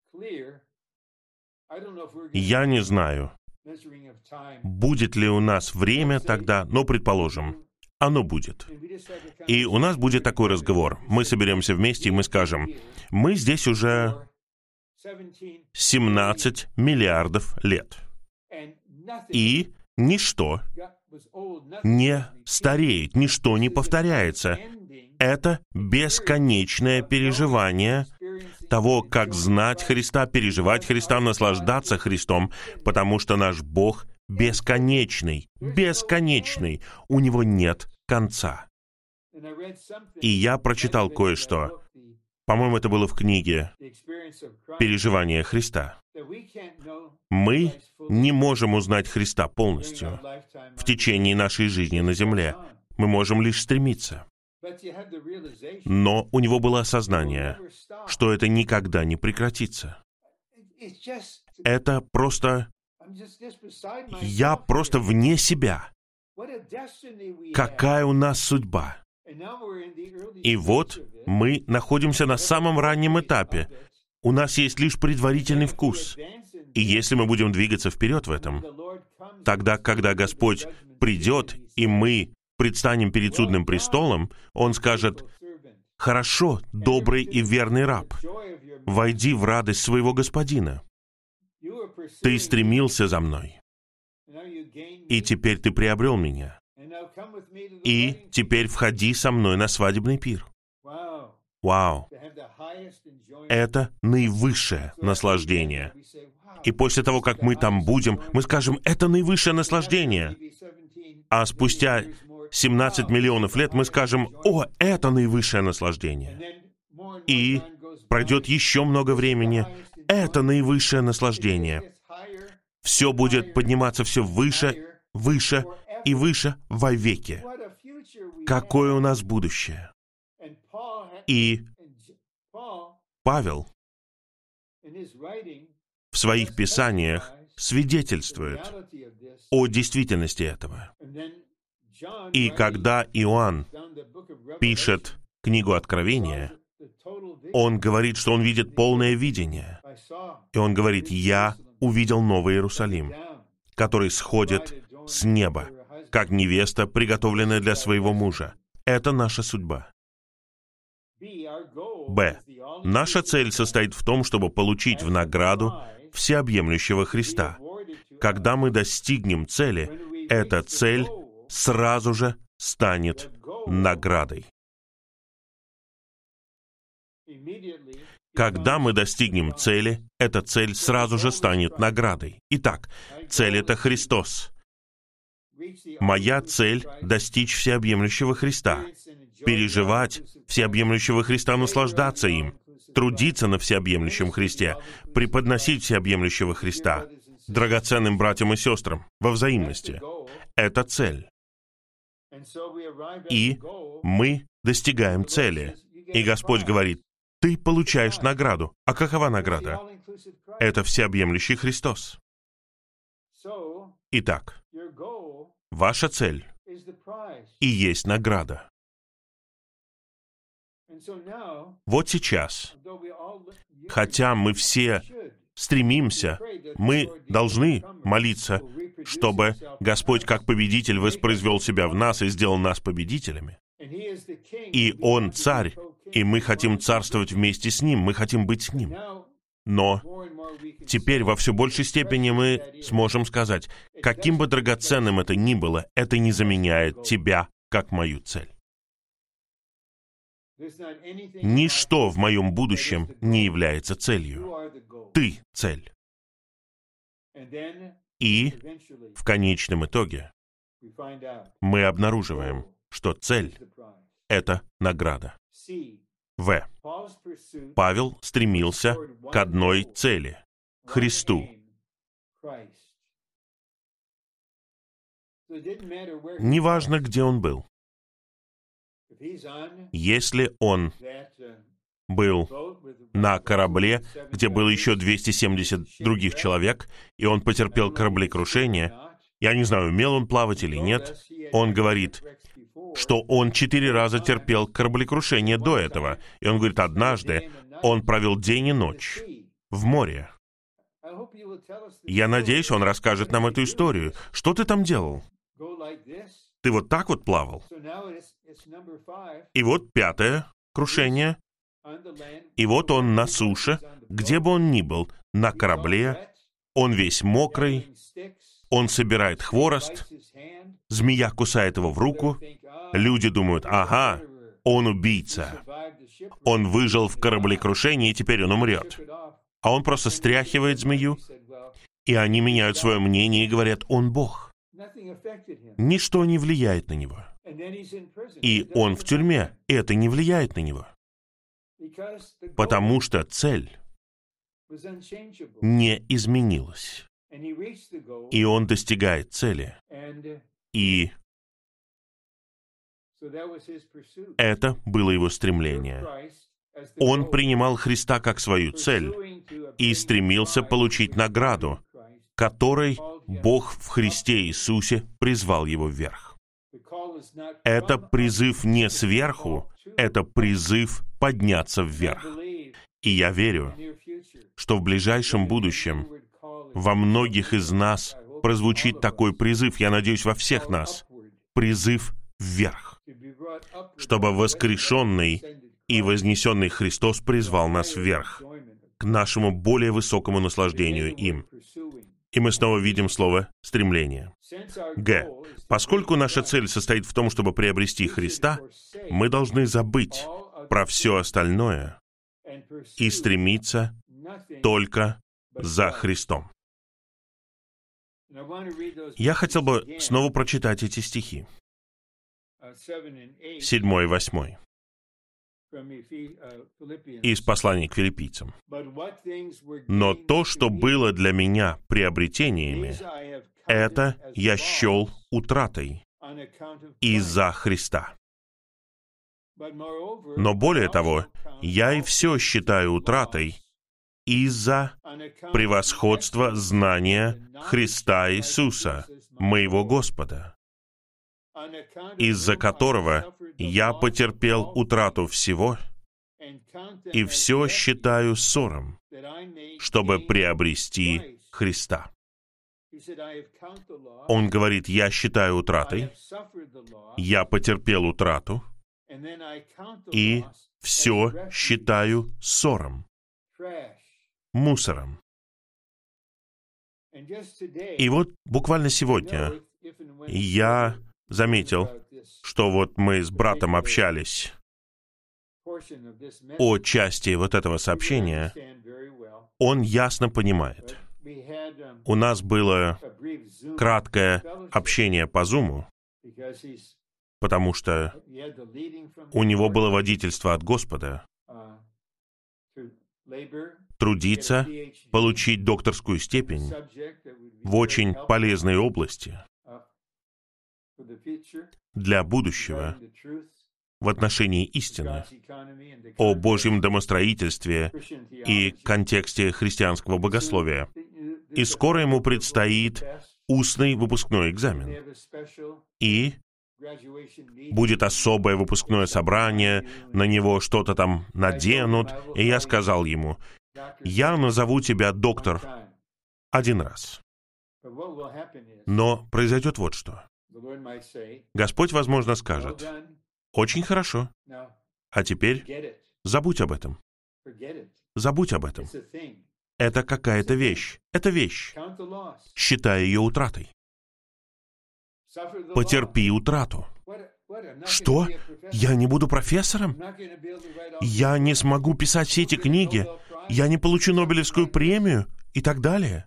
Я не знаю, будет ли у нас время тогда, но, предположим, оно будет. И у нас будет такой разговор. Мы соберемся вместе, и мы скажем: мы здесь уже семнадцать миллиардов лет. И ничто не стареет, ничто не повторяется. Это бесконечное переживание того, как знать Христа, переживать Христа, наслаждаться Христом, потому что наш Бог бесконечный, бесконечный, у Него нет конца. И я прочитал кое-что, по-моему, это было в книге «Переживания Христа». Мы не можем узнать Христа полностью в течение нашей жизни на земле. Мы можем лишь стремиться. Но у него было осознание, что это никогда не прекратится. Это просто... Я просто вне себя. Какая у нас судьба? И вот мы находимся на самом раннем этапе. У нас есть лишь предварительный вкус. И если мы будем двигаться вперед в этом, тогда, когда Господь придет, и мы предстанем перед судным престолом, Он скажет: «Хорошо, добрый и верный раб, войди в радость своего Господина. Ты стремился за мной, и теперь ты приобрел меня. И теперь входи со мной на свадебный пир». Вау! Это наивысшее наслаждение. И после того, как мы там будем, мы скажем: это наивысшее наслаждение. А спустя семнадцать миллионов лет мы скажем: о, это наивысшее наслаждение. И пройдет еще много времени. Это наивысшее наслаждение. Все будет подниматься все выше, выше и выше во веки. Какое у нас будущее? И Павел в своих писаниях свидетельствует о действительности этого. И когда Иоанн пишет книгу Откровения, он говорит, что он видит полное видение. И он говорит: «Я увидел Новый Иерусалим, который сходит с неба, как невеста, приготовленная для своего мужа». Это наша судьба. Б. Наша цель состоит в том, чтобы получить в награду всеобъемлющего Христа. Когда мы достигнем цели, эта цель сразу же станет наградой. Когда мы достигнем цели, эта цель сразу же станет наградой. Итак, цель — это Христос. Моя цель — достичь всеобъемлющего Христа, переживать всеобъемлющего Христа, наслаждаться им, трудиться на всеобъемлющем Христе, преподносить всеобъемлющего Христа драгоценным братьям и сестрам во взаимности. Это цель. И мы достигаем цели. И Господь говорит: ты получаешь награду. А какова награда? Это всеобъемлющий Христос. Итак, ваша цель и есть награда. Вот сейчас, хотя мы все стремимся, мы должны молиться, чтобы Господь как победитель воспроизвел себя в нас и сделал нас победителями. И Он царь, и мы хотим царствовать вместе с Ним, мы хотим быть с Ним. Но теперь во все большей степени мы сможем сказать, каким бы драгоценным это ни было, это не заменяет Тебя как мою цель. Ничто в моем будущем не является целью. Ты — цель. И в конечном итоге мы обнаруживаем, что цель — это награда. В. Павел стремился к одной цели — Христу. Неважно, где он был. Если он был на корабле, где было еще двести семьдесят других человек, и он потерпел кораблекрушение, я не знаю, умел он плавать или нет, он говорит, что он четыре раза терпел кораблекрушение до этого. И он говорит, однажды он провел день и ночь в море. Я надеюсь, он расскажет нам эту историю. Что ты там делал? Ты вот так вот плавал. И вот пятое крушение. И вот он на суше, где бы он ни был, на корабле, он весь мокрый, он собирает хворост, змея кусает его в руку, люди думают, ага, он убийца, он выжил в кораблекрушении, и теперь он умрет. А он просто стряхивает змею, и они меняют свое мнение и говорят, он Бог. Ничто не влияет на него. И он в тюрьме, и это не влияет на него. Потому что цель не изменилась. И он достигает цели. И это было его стремление. Он принимал Христа как свою цель и стремился получить награду, которой Бог в Христе Иисусе призвал его вверх. Это призыв не сверху, это призыв подняться вверх. И я верю, что в ближайшем будущем во многих из нас прозвучит такой призыв, я надеюсь, во всех нас, призыв вверх, чтобы воскрешенный и вознесенный Христос призвал нас вверх, к нашему более высокому наслаждению им. И мы снова видим слово «стремление». Г. Поскольку наша цель состоит в том, чтобы приобрести Христа, мы должны забыть про все остальное и стремиться только за Христом. Я хотел бы снова прочитать эти стихи. Седьмой и восьмой. Из послания к филиппийцам. «Но то, что было для меня приобретениями, это я счел утратой из-за Христа. Но более того, я и все считаю утратой из-за превосходства знания Христа Иисуса, моего Господа, из-за которого я потерпел утрату всего и все считаю ссором, чтобы приобрести Христа». Он говорит, я считаю утратой, я потерпел утрату, и все считаю ссором, мусором. И вот буквально сегодня я заметил, что вот мы с братом общались о части вот этого сообщения. Он ясно понимает. У нас было краткое общение по Зуму, потому что у него было водительство от Господа трудиться, получить докторскую степень в очень полезной области для будущего в отношении истины о Божьем домостроительстве и контексте христианского богословия. И скоро ему предстоит устный выпускной экзамен. И будет особое выпускное собрание, на него что-то там наденут. И я сказал ему, Я назову тебя доктор один раз. Но произойдет вот что. Господь, возможно, скажет: очень хорошо, а теперь забудь об этом. Забудь об этом. Это какая-то вещь. Это вещь. Считай ее утратой. Потерпи утрату. Что? Я не буду профессором? Я не смогу писать все эти книги? Я не получу Нобелевскую премию? И так далее.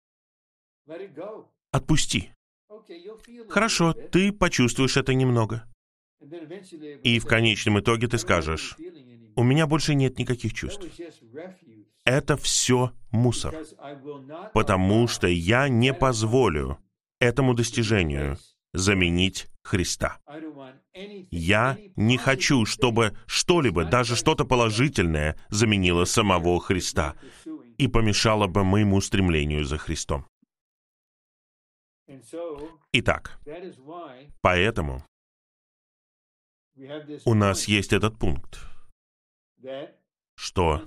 Отпусти. Хорошо, ты почувствуешь это немного. И в конечном итоге ты скажешь: у меня больше нет никаких чувств. Это все мусор. Потому что я не позволю этому достижению заменить Христа. Я не хочу, чтобы что-либо, даже что-то положительное, заменило самого Христа и помешало бы моему стремлению за Христом. Итак, поэтому у нас есть этот пункт, что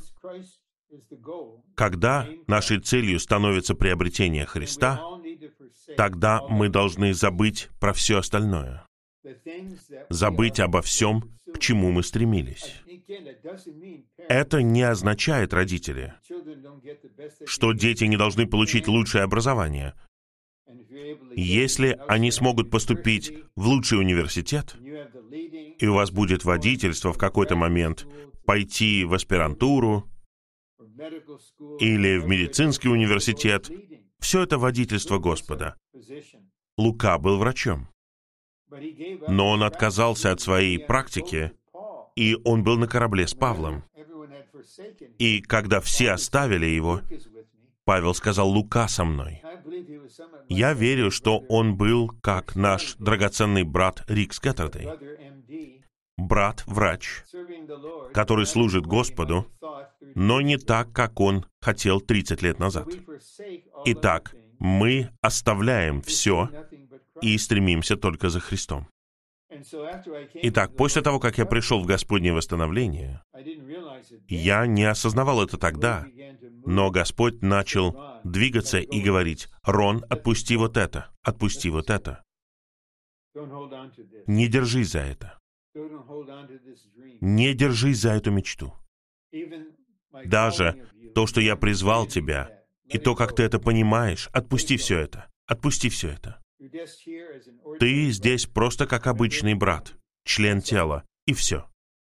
когда нашей целью становится приобретение Христа, тогда мы должны забыть про все остальное. Забыть обо всем, к чему мы стремились. Это не означает, родители, что дети не должны получить лучшее образование. Если они смогут поступить в лучший университет, и у вас будет водительство в какой-то момент пойти в аспирантуру или в медицинский университет, все это водительство Господа. Лука был врачом, но он отказался от своей практики, и он был на корабле с Павлом. И когда все оставили его, Павел сказал: «Лука со мной». Я верю, что он был как наш драгоценный брат Рик Скаттердей, брат-врач, который служит Господу, но не так, как он хотел тридцать лет назад. Итак, мы оставляем все и стремимся только за Христом. Итак, после того, как я пришел в Господнее восстановление, я не осознавал это тогда, но Господь начал двигаться и говорить: «Рон, отпусти вот это, отпусти вот это. Не держись за это. Не держись за эту мечту. Даже то, что я призвал тебя, и то, как ты это понимаешь, отпусти все это, отпусти все это. Ты здесь просто как обычный брат, член тела, и все.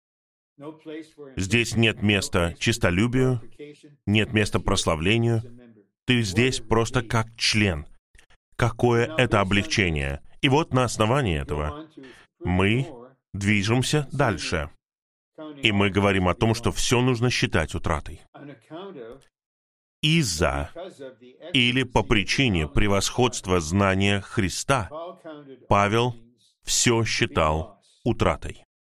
Здесь нет места честолюбию, нет места прославлению. Ты здесь просто как член. Какое это облегчение! И вот на основании этого мы движемся дальше. И мы говорим о том, что все нужно считать утратой. Из-за или по причине превосходства знания Христа Павел все считал утратой.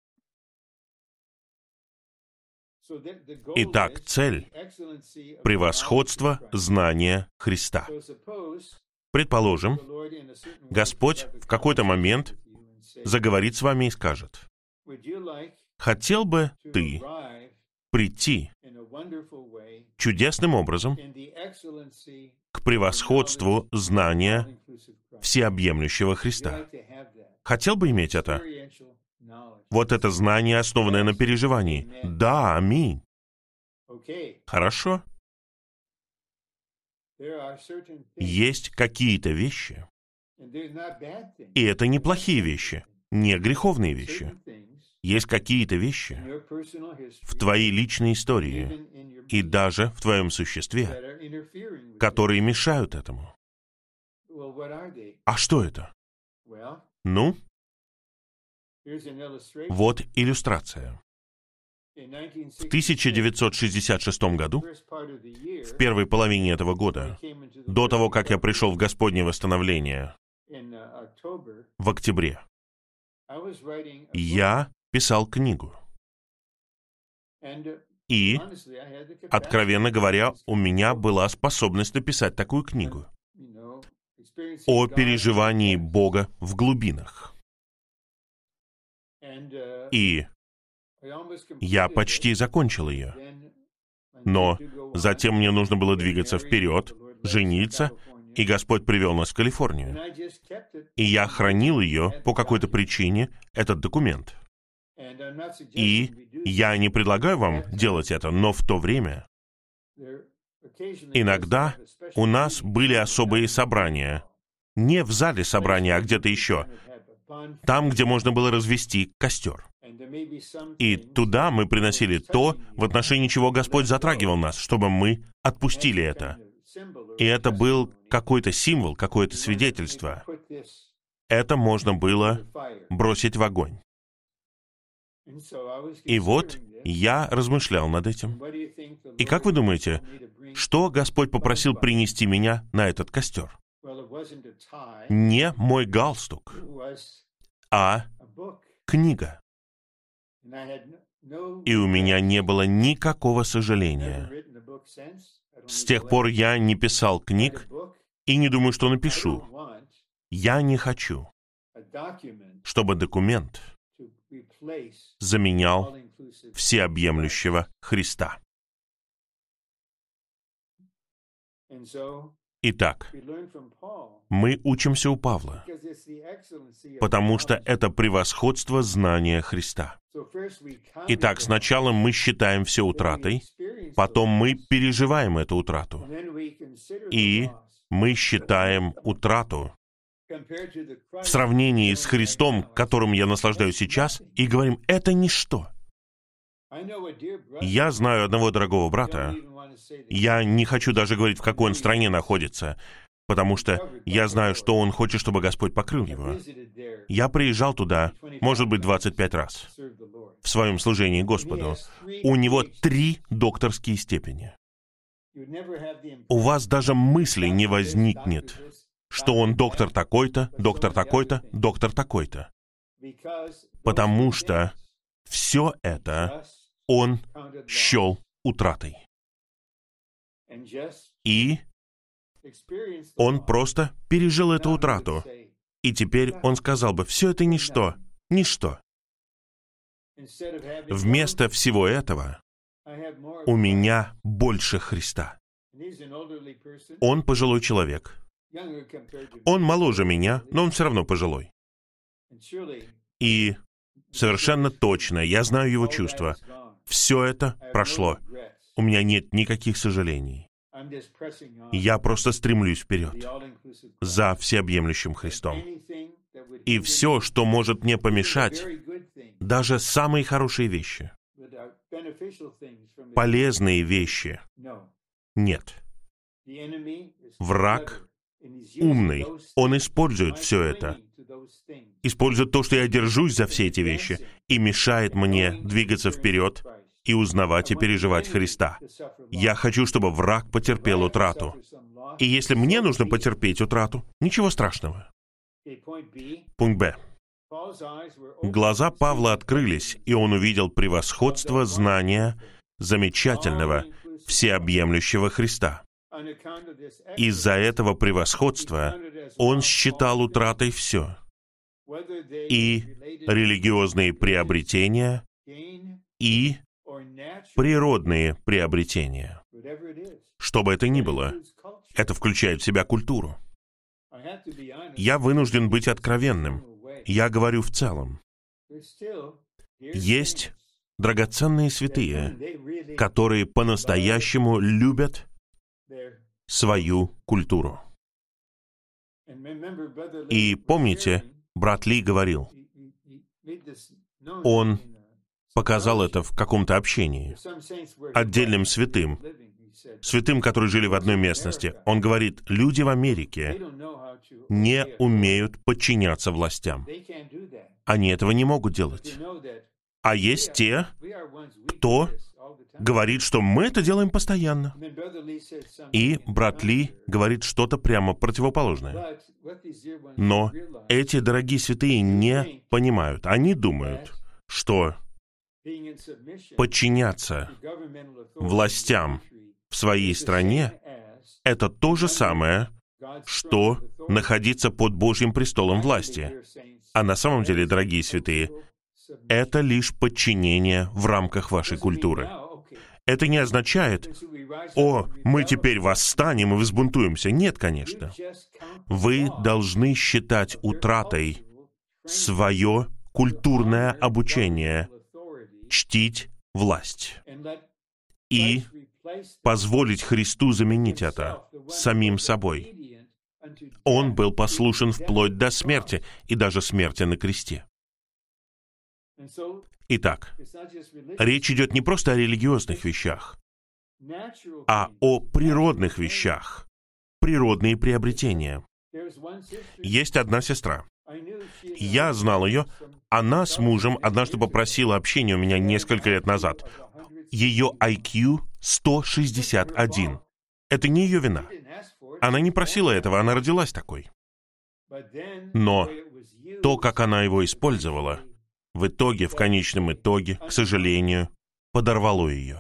Итак, цель — превосходство знания Христа. Предположим, Господь в какой-то момент заговорит с вами и скажет: «Хотел бы ты прийти чудесным образом к превосходству знания всеобъемлющего Христа». Хотел бы иметь это? Вот это знание, основанное на переживании. Да, аминь. Хорошо. Есть какие-то вещи, и это не плохие вещи, не греховные вещи. Есть какие-то вещи в твоей личной истории и даже в твоем существе, которые мешают этому. А что это? Ну, вот иллюстрация. В тысяча девятьсот шестьдесят шестом году, в первой половине этого года, до того, как я пришел в Господнее восстановление, в октябре, я писал книгу. И, откровенно говоря, у меня была способность написать такую книгу о переживании Бога в глубинах. И я почти закончил ее. Но Затем мне нужно было двигаться вперед, жениться, и Господь привел нас в Калифорнию. И я хранил ее по какой-то причине, этот документ. И я не предлагаю вам делать это, но в то время иногда у нас были особые собрания. Не в зале собрания, а где-то еще. Там, где можно было развести костер. И туда мы приносили то, в отношении чего Господь затрагивал нас, чтобы мы отпустили это. И это был какой-то символ, какое-то свидетельство. Это можно было бросить в огонь. И вот я размышлял над этим. И как вы думаете, что Господь попросил принести меня на этот костер? Не мой галстук, а книга. И у меня не было никакого сожаления. С тех пор я не писал книг и не думаю, что напишу. Я не хочу, чтобы документ заменял всеобъемлющего Христа. Итак, мы учимся у Павла, потому что это превосходство знания Христа. Итак, сначала мы считаем все утратой, потом мы переживаем эту утрату, и мы считаем утрату в сравнении с Христом, которым я наслаждаюсь сейчас, и говорим, это ничто. Я знаю одного дорогого брата, я не хочу даже говорить, в какой он стране находится, потому что я знаю, что он хочет, чтобы Господь покрыл его. Я приезжал туда, может быть, двадцать пять раз в своем служении Господу. У него три докторские степени. У вас даже мысли не возникнет, что он доктор такой-то, доктор такой-то, доктор такой-то. Потому что все это он счел утратой. И он просто пережил эту утрату. И теперь он сказал бы, все это ничто, ничто. Вместо всего этого у меня больше Христа. Он пожилой человек. Он моложе меня, но он все равно пожилой. И совершенно точно, я знаю его чувства. Все это прошло. У меня нет никаких сожалений. Я просто стремлюсь вперед за всеобъемлющим Христом. И все, что может мне помешать, даже самые хорошие вещи, полезные вещи, нет. Враг умный, он использует все это, использует то, что я держусь за все эти вещи, и мешает мне двигаться вперед и узнавать и переживать Христа. Я хочу, чтобы враг потерпел утрату. И если мне нужно потерпеть утрату, ничего страшного. Пункт Б. Глаза Павла открылись, и он увидел превосходство знания замечательного, всеобъемлющего Христа. Из-за этого превосходства он считал утратой все. И религиозные приобретения, и природные приобретения. Что бы это ни было, это включает в себя культуру. Я вынужден быть откровенным. Я говорю в целом. Есть драгоценные святые, которые по-настоящему любят свою культуру. И помните, брат Ли говорил, он показал это в каком-то общении, отдельным святым, святым, которые жили в одной местности. Он говорит, люди в Америке не умеют подчиняться властям. Они этого не могут делать. А есть те, кто говорит, что мы это делаем постоянно. И брат Ли говорит что-то прямо противоположное. Но эти дорогие святые не понимают. Они думают, что подчиняться властям в своей стране — это то же самое, что находиться под Божьим престолом власти. А на самом деле, дорогие святые, это лишь подчинение в рамках вашей культуры. Это не означает, «О, мы теперь восстанем и взбунтуемся». Нет, конечно. Вы должны считать утратой свое культурное обучение, чтить власть и позволить Христу заменить это самим собой. Он был послушен вплоть до смерти, и даже смерти на кресте. Итак, речь идет не просто о религиозных вещах, а о природных вещах, природные приобретения. Есть одна сестра. Я знал ее. Она с мужем однажды попросила общения у меня несколько лет назад. Ее ай кью сто шестьдесят один. Это не ее вина. Она не просила этого, она родилась такой. Но то, как она его использовала, в итоге, в конечном итоге, к сожалению, подорвало ее.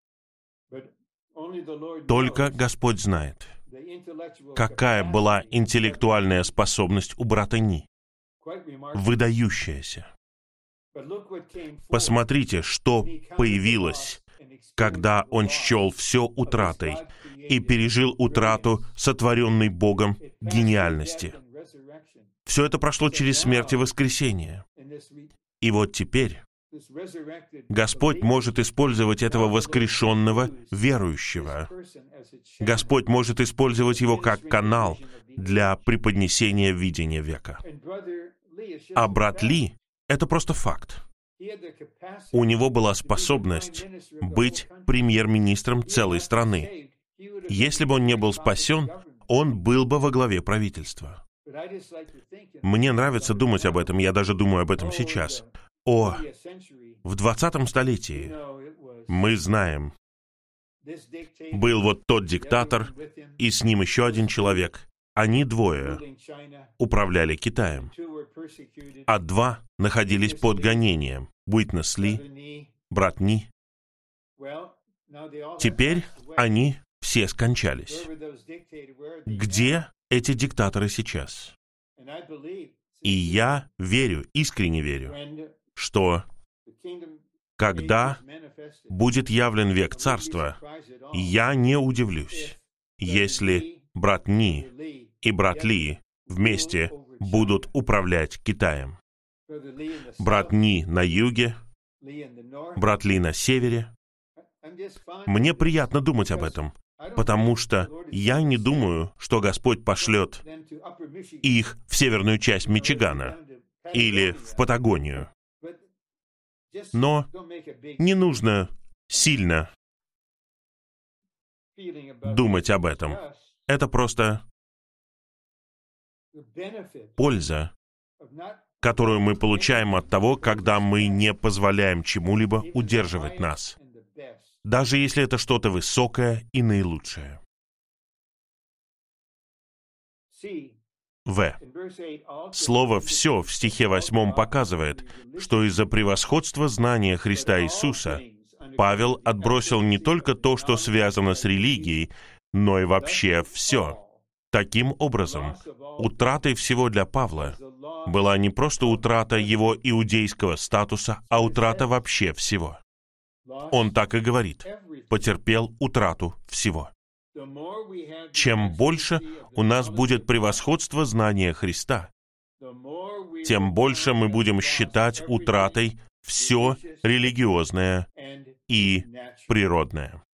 Только Господь знает, какая была интеллектуальная способность у брата Ни. Выдающаяся. Посмотрите, что появилось, когда он счел все утратой и пережил утрату сотворенной Богом гениальности. Все это прошло через смерть и воскресение. И вот теперь Господь может использовать этого воскрешенного верующего. Господь может использовать его как канал для преподнесения видения века. А брат Ли — это просто факт. У него была способность быть премьер-министром целой страны. Если бы он не был спасен, он был бы во главе правительства. Мне нравится думать об этом, я даже думаю об этом сейчас. О, в двадцатом столетии, мы знаем, был вот тот диктатор, и с ним еще один человек. Они двое управляли Китаем, а два находились под гонением. Уитнес Ли, брат Ни. Теперь они все скончались. Где эти диктаторы сейчас? И я верю, искренне верю, что когда будет явлен век Царства, я не удивлюсь, если брат Ни и брат Ли вместе будут управлять Китаем. Брат Ни на юге, брат Ли на севере. Мне приятно думать об этом, потому что я не думаю, что Господь пошлет их в северную часть Мичигана или в Патагонию. Но не нужно сильно думать об этом. Это просто польза, которую мы получаем от того, когда мы не позволяем чему-либо удерживать нас, даже если это что-то высокое и наилучшее. В. Слово «все» в стихе восьмом показывает, что из-за превосходства знания Христа Иисуса Павел отбросил не только то, что связано с религией, но и вообще все. Таким образом, утратой всего для Павла была не просто утрата его иудейского статуса, а утрата вообще всего. Он так и говорит: «Потерпел утрату всего». Чем больше у нас будет превосходство знания Христа, тем больше мы будем считать утратой все религиозное и природное.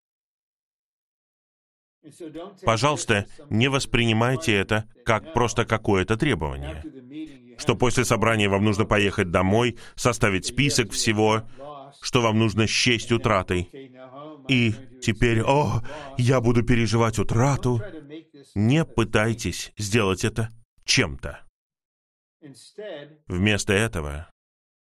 Пожалуйста, не воспринимайте это как просто какое-то требование, что после собрания вам нужно поехать домой, составить список всего, что вам нужно счесть утратой. И теперь, о, я буду переживать утрату. Не пытайтесь сделать это чем-то. Вместо этого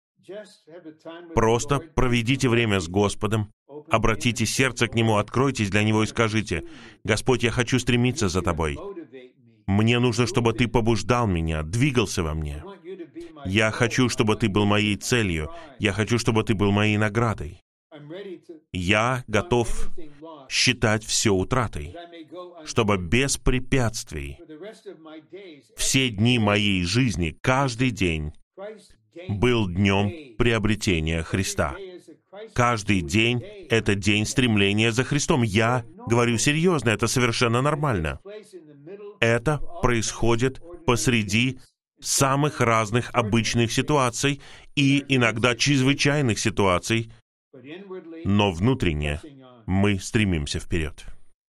просто проведите время с Господом, обратите сердце к Нему, откройтесь для Него и скажите: «Господь, я хочу стремиться за Тобой. Мне нужно, чтобы Ты побуждал меня, двигался во мне. Я хочу, чтобы Ты был моей целью. Я хочу, чтобы Ты был моей наградой. Я готов считать все утратой, чтобы без препятствий все дни моей жизни, каждый день, был днем приобретения Христа. Каждый день — это день стремления за Христом. Я говорю серьезно, это совершенно нормально. Это происходит посреди самых разных обычных ситуаций и иногда чрезвычайных ситуаций, но внутренне мы стремимся вперед.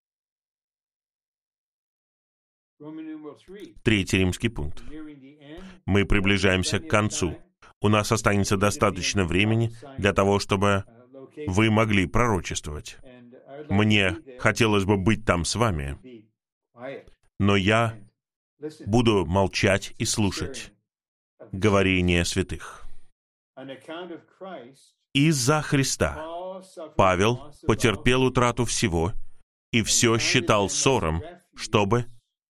Третий римский пункт. Мы приближаемся к концу. У нас останется достаточно времени для того, чтобы вы могли пророчествовать. Мне хотелось бы быть там с вами, но я буду молчать и слушать говорение святых. Из-за Христа Павел потерпел утрату всего и все считал ссором, чтобы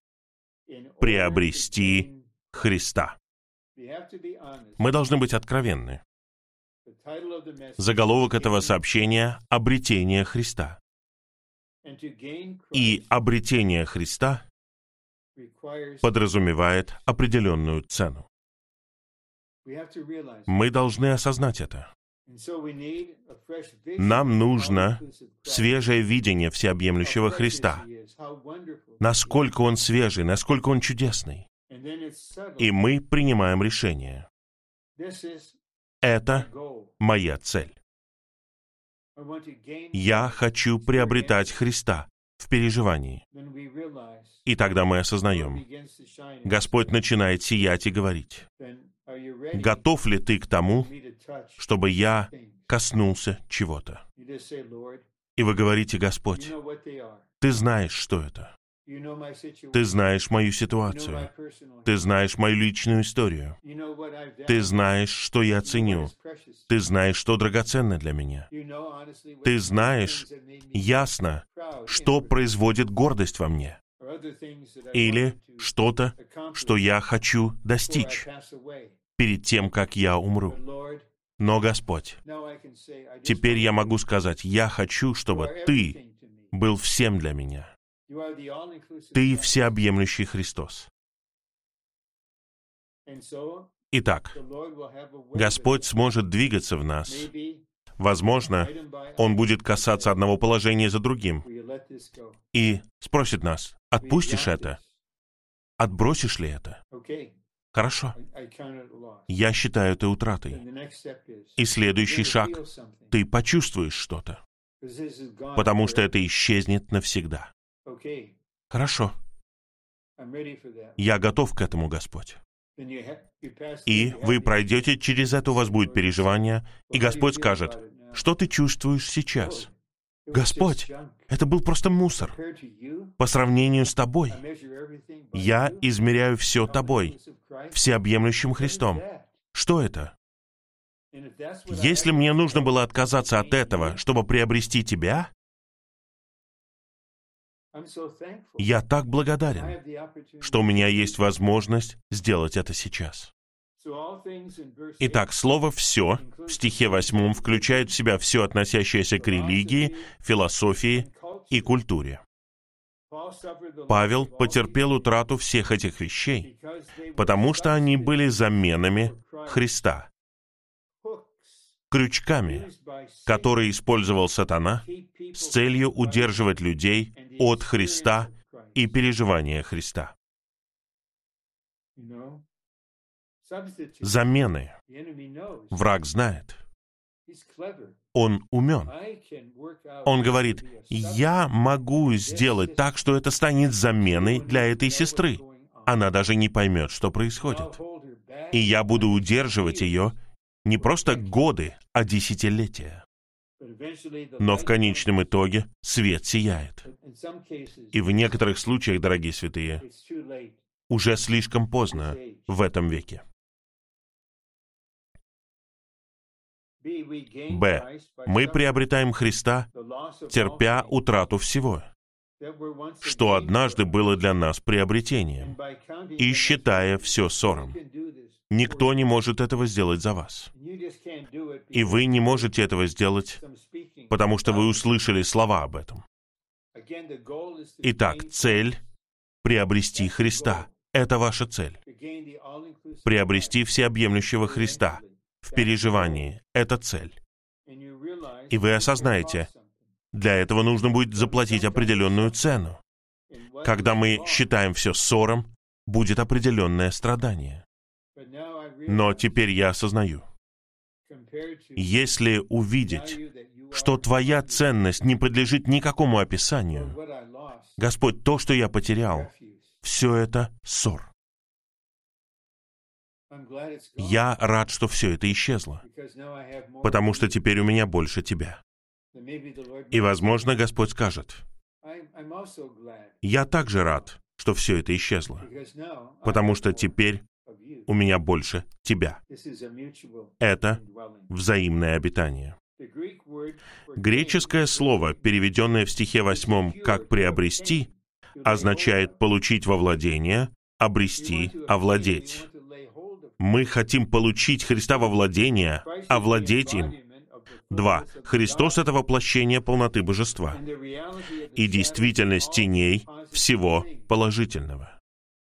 приобрести Христа. Мы должны быть откровенны. Заголовок этого сообщения — «Обретение Христа». И обретение Христа подразумевает определенную цену. Мы должны осознать это. Нам нужно свежее видение всеобъемлющего Христа. Насколько Он свежий, насколько Он чудесный. И мы принимаем решение. Это моя цель. Я хочу приобретать Христа в переживании. И тогда мы осознаем, Господь начинает сиять и говорить: готов ли ты к тому, чтобы я коснулся чего-то? И вы говорите: Господь, ты знаешь, что это. Ты знаешь мою ситуацию. Ты знаешь мою личную историю. Ты знаешь, что я ценю. Ты знаешь, что драгоценно для меня. Ты знаешь ясно, что производит гордость во мне. Или что-то, что я хочу достичь перед тем, как я умру. Но, Господь, теперь я могу сказать: я хочу, чтобы Ты был всем для меня. Ты всеобъемлющий Христос. Итак, Господь сможет двигаться в нас. Возможно, Он будет касаться одного положения за другим и спросит нас: отпустишь это? Отбросишь ли это? Хорошо. Я считаю это утратой. И следующий шаг — ты почувствуешь что-то, потому что это исчезнет навсегда. Хорошо. Я готов к этому, Господь. И вы пройдете через это, у вас будет переживание, и Господь скажет: что ты чувствуешь сейчас? Господь, это был просто мусор. По сравнению с Тобой, я измеряю все Тобой, всеобъемлющим Христом. Что это? Если мне нужно было отказаться от этого, чтобы приобрести Тебя, я так благодарен, что у меня есть возможность сделать это сейчас. Итак, слово «все» в стихе восьмом включает в себя все, относящееся к религии, философии и культуре. Павел потерпел утрату всех этих вещей, потому что они были заменами Христа, крючками, которые использовал сатана с целью удерживать людей от Христа и переживания Христа. Замены. Враг знает. Он умен. Он говорит: я могу сделать так, что это станет заменой для этой сестры. Она даже не поймет, что происходит. И я буду удерживать ее не просто годы, а десятилетия. Но в конечном итоге свет сияет. И в некоторых случаях, дорогие святые, уже слишком поздно в этом веке. Б. Мы приобретаем Христа, терпя утрату всего, что однажды было для нас приобретением, и считая все ссором. Никто не может этого сделать за вас. И вы не можете этого сделать, потому что вы услышали слова об этом. Итак, цель — приобрести Христа. Это ваша цель. Приобрести всеобъемлющего Христа в переживании — это цель. И вы осознаете, для этого нужно будет заплатить определенную цену. Когда мы считаем все ссором, будет определенное страдание. Но теперь я осознаю, если увидеть, что твоя ценность не подлежит никакому описанию, Господь, то, что я потерял, все это ссор. Я рад, что все это исчезло, потому что теперь у меня больше тебя. И, возможно, Господь скажет, я также рад, что все это исчезло, потому что теперь у меня больше тебя. Это взаимное обитание. Греческое слово, переведенное в стихе восьмом как «приобрести», означает получить во владение, обрести, овладеть. Мы хотим получить Христа во владение, овладеть им. Два. Христос — это воплощение полноты божества и действительность теней всего положительного.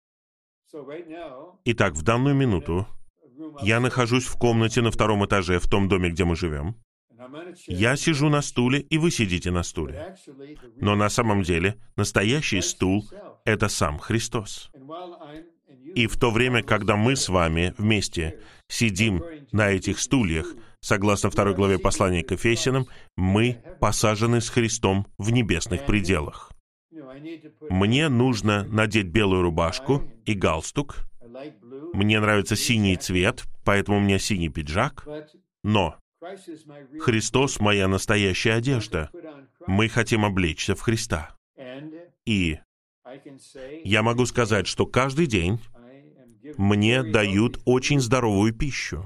Итак, в данную минуту я нахожусь в комнате на втором этаже в том доме, где мы живем. Я сижу на стуле, и вы сидите на стуле. Но на самом деле настоящий стул — это сам Христос. И в то время, когда мы с вами вместе сидим на этих стульях, согласно второй главе послания к Ефесянам, мы посажены с Христом в небесных пределах. Мне нужно надеть белую рубашку и галстук. Мне нравится синий цвет, поэтому у меня синий пиджак. Но Христос — моя настоящая одежда. Мы хотим облечься в Христа. И я могу сказать, что каждый день мне дают очень здоровую пищу.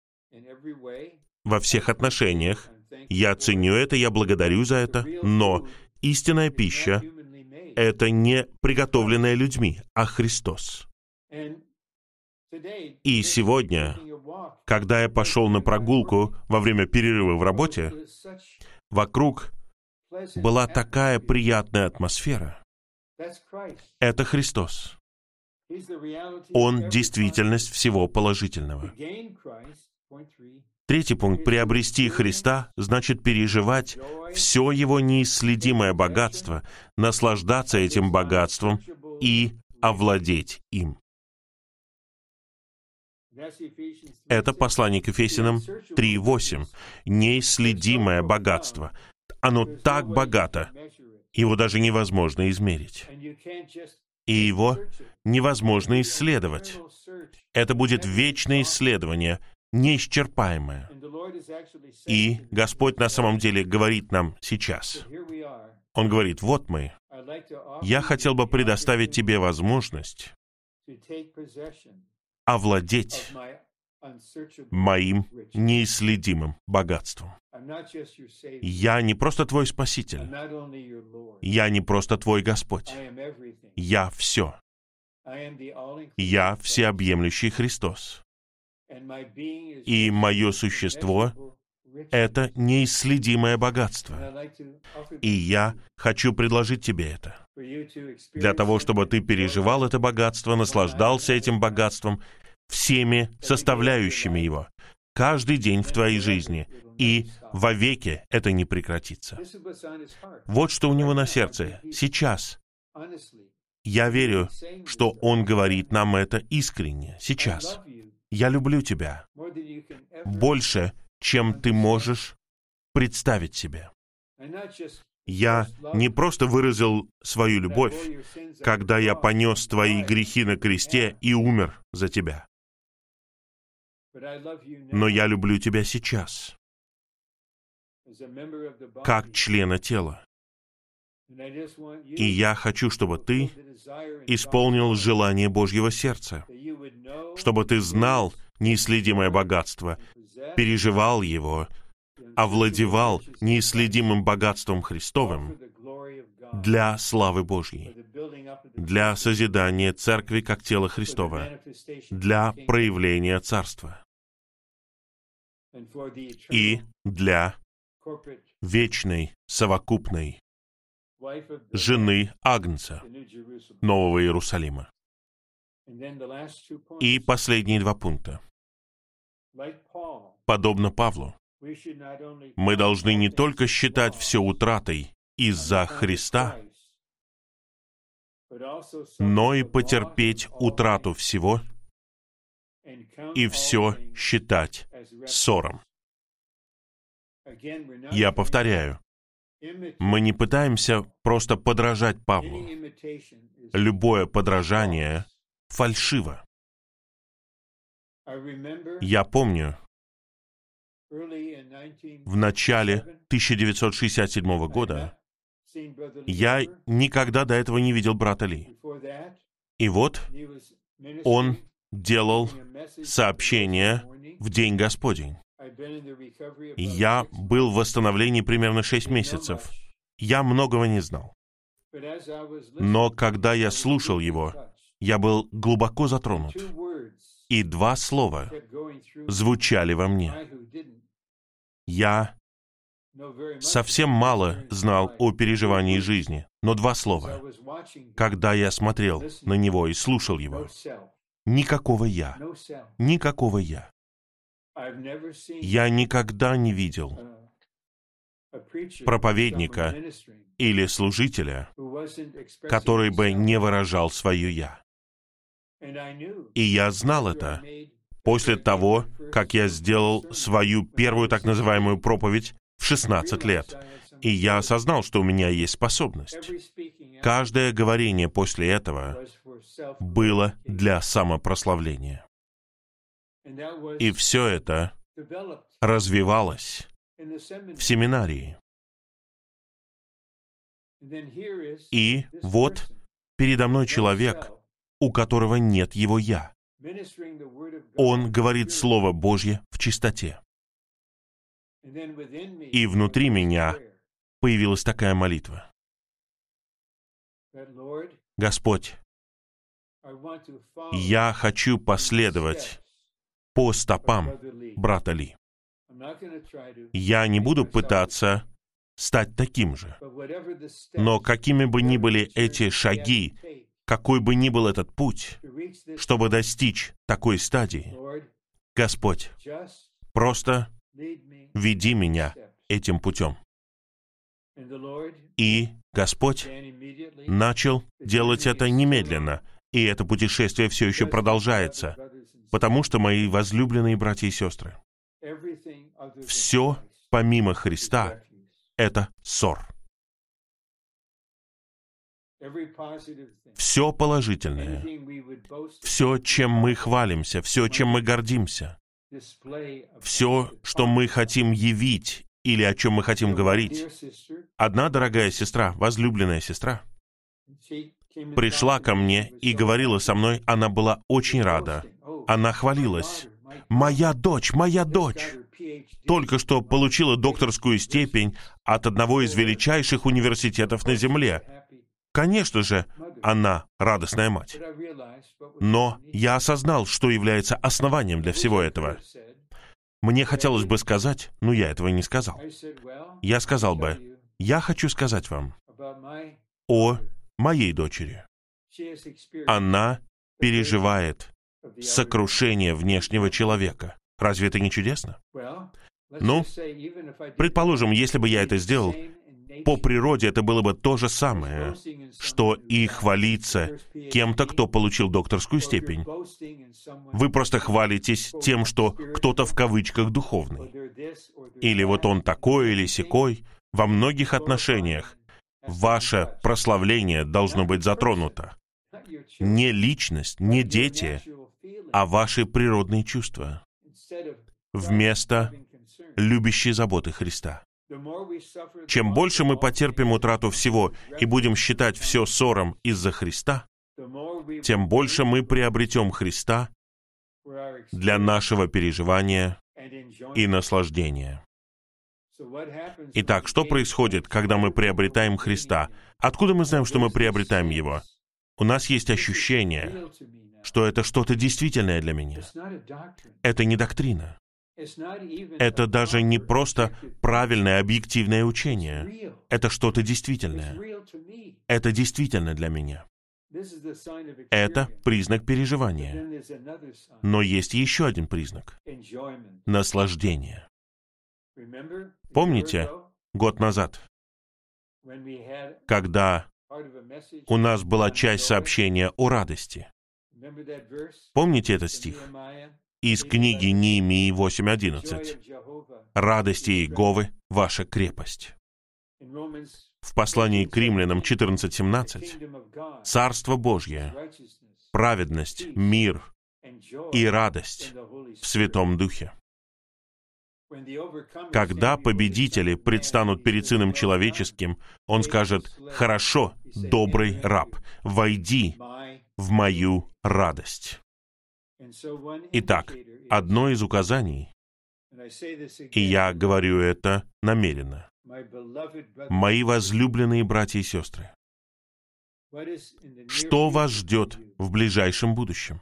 Во всех отношениях. Я ценю это, я благодарю за это, но истинная пища — это не приготовленная людьми, а Христос. И сегодня, когда я пошел на прогулку во время перерыва в работе, вокруг была такая приятная атмосфера. Это Христос. Он — действительность всего положительного. Третий пункт. Приобрести Христа значит переживать все Его неисследимое богатство, наслаждаться этим богатством и овладеть им. Это послание к Ефесянам три восемь. Неисследимое богатство. Оно так богато, его даже невозможно измерить. И его невозможно исследовать. Это будет вечное исследование, неисчерпаемое. И Господь на самом деле говорит нам сейчас. Он говорит: вот мы. Я хотел бы предоставить тебе возможность овладеть моим неисследимым богатством. Я не просто твой Спаситель. Я не просто твой Господь. Я все. Я всеобъемлющий Христос. И мое существо — это неисследимое богатство. И я хочу предложить тебе это. Для того, чтобы ты переживал это богатство, наслаждался этим богатством, всеми составляющими его, каждый день в твоей жизни, и вовеки это не прекратится. Вот что у него на сердце сейчас. Я верю, что он говорит нам это искренне, сейчас. Я люблю тебя больше, чем ты можешь представить себе. Я не просто выразил свою любовь, когда я понес твои грехи на кресте и умер за тебя. Но я люблю тебя сейчас, как члена тела. И я хочу, чтобы ты исполнил желание Божьего сердца, чтобы ты знал неисследимое богатство, переживал его, овладевал неисследимым богатством Христовым для славы Божьей, для созидания Церкви как тела Христова, для проявления Царства и для вечной, совокупной жены Агнца, Нового Иерусалима. И последние два пункта. Подобно Павлу, Мы должны не только считать все утратой из-за Христа, но и потерпеть утрату всего и все считать ссором. Я повторяю, мы не пытаемся просто подражать Павлу. Любое подражание фальшиво. Я помню, в начале тысяча девятьсот шестьдесят седьмого года я никогда до этого не видел брата Ли. И вот он делал сообщение в День Господень. Я был в восстановлении примерно шесть месяцев. Я многого не знал. Но когда я слушал его, я был глубоко затронут. И два слова звучали во мне. Я совсем мало знал о переживании жизни, но два слова. Когда я смотрел на него и слушал его, никакого «я», никакого «я». Я никогда не видел проповедника или служителя, который бы не выражал свое «я». И я знал это после того, как я сделал свою первую так называемую проповедь в шестнадцать лет. И я осознал, что у меня есть способность. Каждое говорение после этого было для самопрославления. И все это развивалось в семинарии. И вот передо мной человек, у которого нет его «я». Он говорит Слово Божье в чистоте. И внутри меня появилась такая молитва. Господь, я хочу последовать по стопам брата Ли. Я не буду пытаться стать таким же. Но какими бы ни были эти шаги, какой бы ни был этот путь, чтобы достичь такой стадии, Господь, просто веди меня этим путем. И Господь начал делать это немедленно, и это путешествие все еще продолжается, потому что, мои возлюбленные братья и сестры, все помимо Христа — это ссор. Все положительное, все, чем мы хвалимся, все, чем мы гордимся, все, что мы хотим явить или о чем мы хотим говорить. Одна дорогая сестра, возлюбленная сестра, пришла ко мне и говорила со мной, она была очень рада. Она хвалилась. «Моя дочь, моя дочь только что получила докторскую степень от одного из величайших университетов на Земле». Конечно же, она радостная мать. Но я осознал, что является основанием для всего этого. Мне хотелось бы сказать, но я этого не сказал. Я сказал бы, я хочу сказать вам о моей дочери. Она переживает сокрушение внешнего человека. Разве это не чудесно? Ну, предположим, если бы я это сделал, по природе это было бы то же самое, что и хвалиться кем-то, кто получил докторскую степень. Вы просто хвалитесь тем, что кто-то в кавычках духовный. Или вот он такой или сякой. Во многих отношениях ваше прославление должно быть затронуто. Не личность, не дети, а ваши природные чувства. Вместо любящей заботы Христа. Чем больше мы потерпим утрату всего и будем считать все ссором из-за Христа, тем больше мы приобретем Христа для нашего переживания и наслаждения. Итак, что происходит, когда мы приобретаем Христа? Откуда мы знаем, что мы приобретаем Его? У нас есть ощущение, что это что-то действительное для меня. Это не доктрина. Это даже не просто правильное объективное учение. Это что-то действительное. Это действительно для меня. Это признак переживания. Но есть еще один признак — наслаждение. Помните, год назад, когда у нас была часть сообщения о радости? Помните этот стих? Из книги Неемии восемь одиннадцать. «Радость Иеговы — ваша крепость». В послании к Римлянам четырнадцать семнадцать. «Царство Божье, праведность, мир и радость в Святом Духе». Когда победители предстанут перед Сыном Человеческим, Он скажет: «Хорошо, добрый раб, войди в мою радость». Итак, одно из указаний, и я говорю это намеренно, мои возлюбленные братья и сестры, что вас ждет в ближайшем будущем?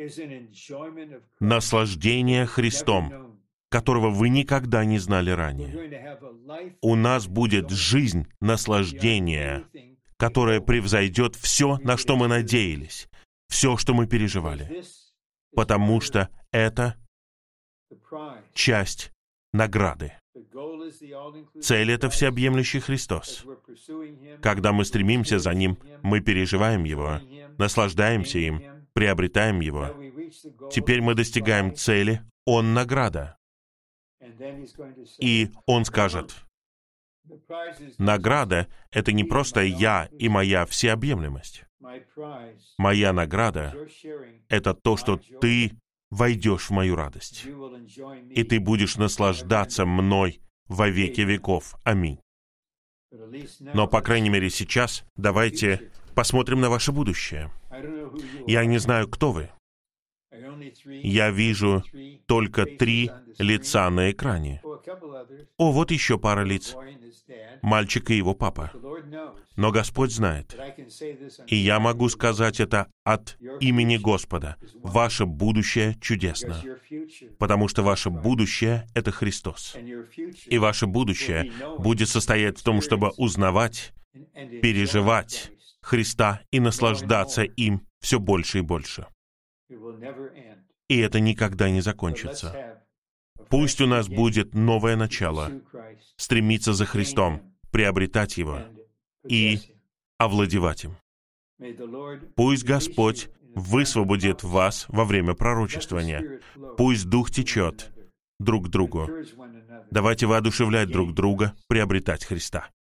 Наслаждение Христом, которого вы никогда не знали ранее. У нас будет жизнь наслаждения, которая превзойдет все, на что мы надеялись, все, что мы переживали, потому что это часть награды. Цель — это всеобъемлющий Христос. Когда мы стремимся за Ним, мы переживаем Его, наслаждаемся им, приобретаем Его. Теперь мы достигаем цели, Он — награда. И Он скажет: награда — это не просто я и моя всеобъемлемость. Моя награда — это то, что ты войдешь в мою радость, и ты будешь наслаждаться мной во веки веков. Аминь. Но, по крайней мере, сейчас давайте посмотрим на ваше будущее. Я не знаю, кто вы. Я вижу только три лица на экране. О, вот еще пара лиц. Мальчик и его папа. Но Господь знает. И я могу сказать это от имени Господа. Ваше будущее чудесно. Потому что ваше будущее — это Христос. И ваше будущее будет состоять в том, чтобы узнавать, переживать Христа и наслаждаться им все больше и больше. И это никогда не закончится. Пусть у нас будет новое начало, стремиться за Христом, приобретать Его и овладевать им. Пусть Господь высвободит вас во время пророчествования. Пусть Дух течет друг к другу. Давайте воодушевлять друг друга, приобретать Христа.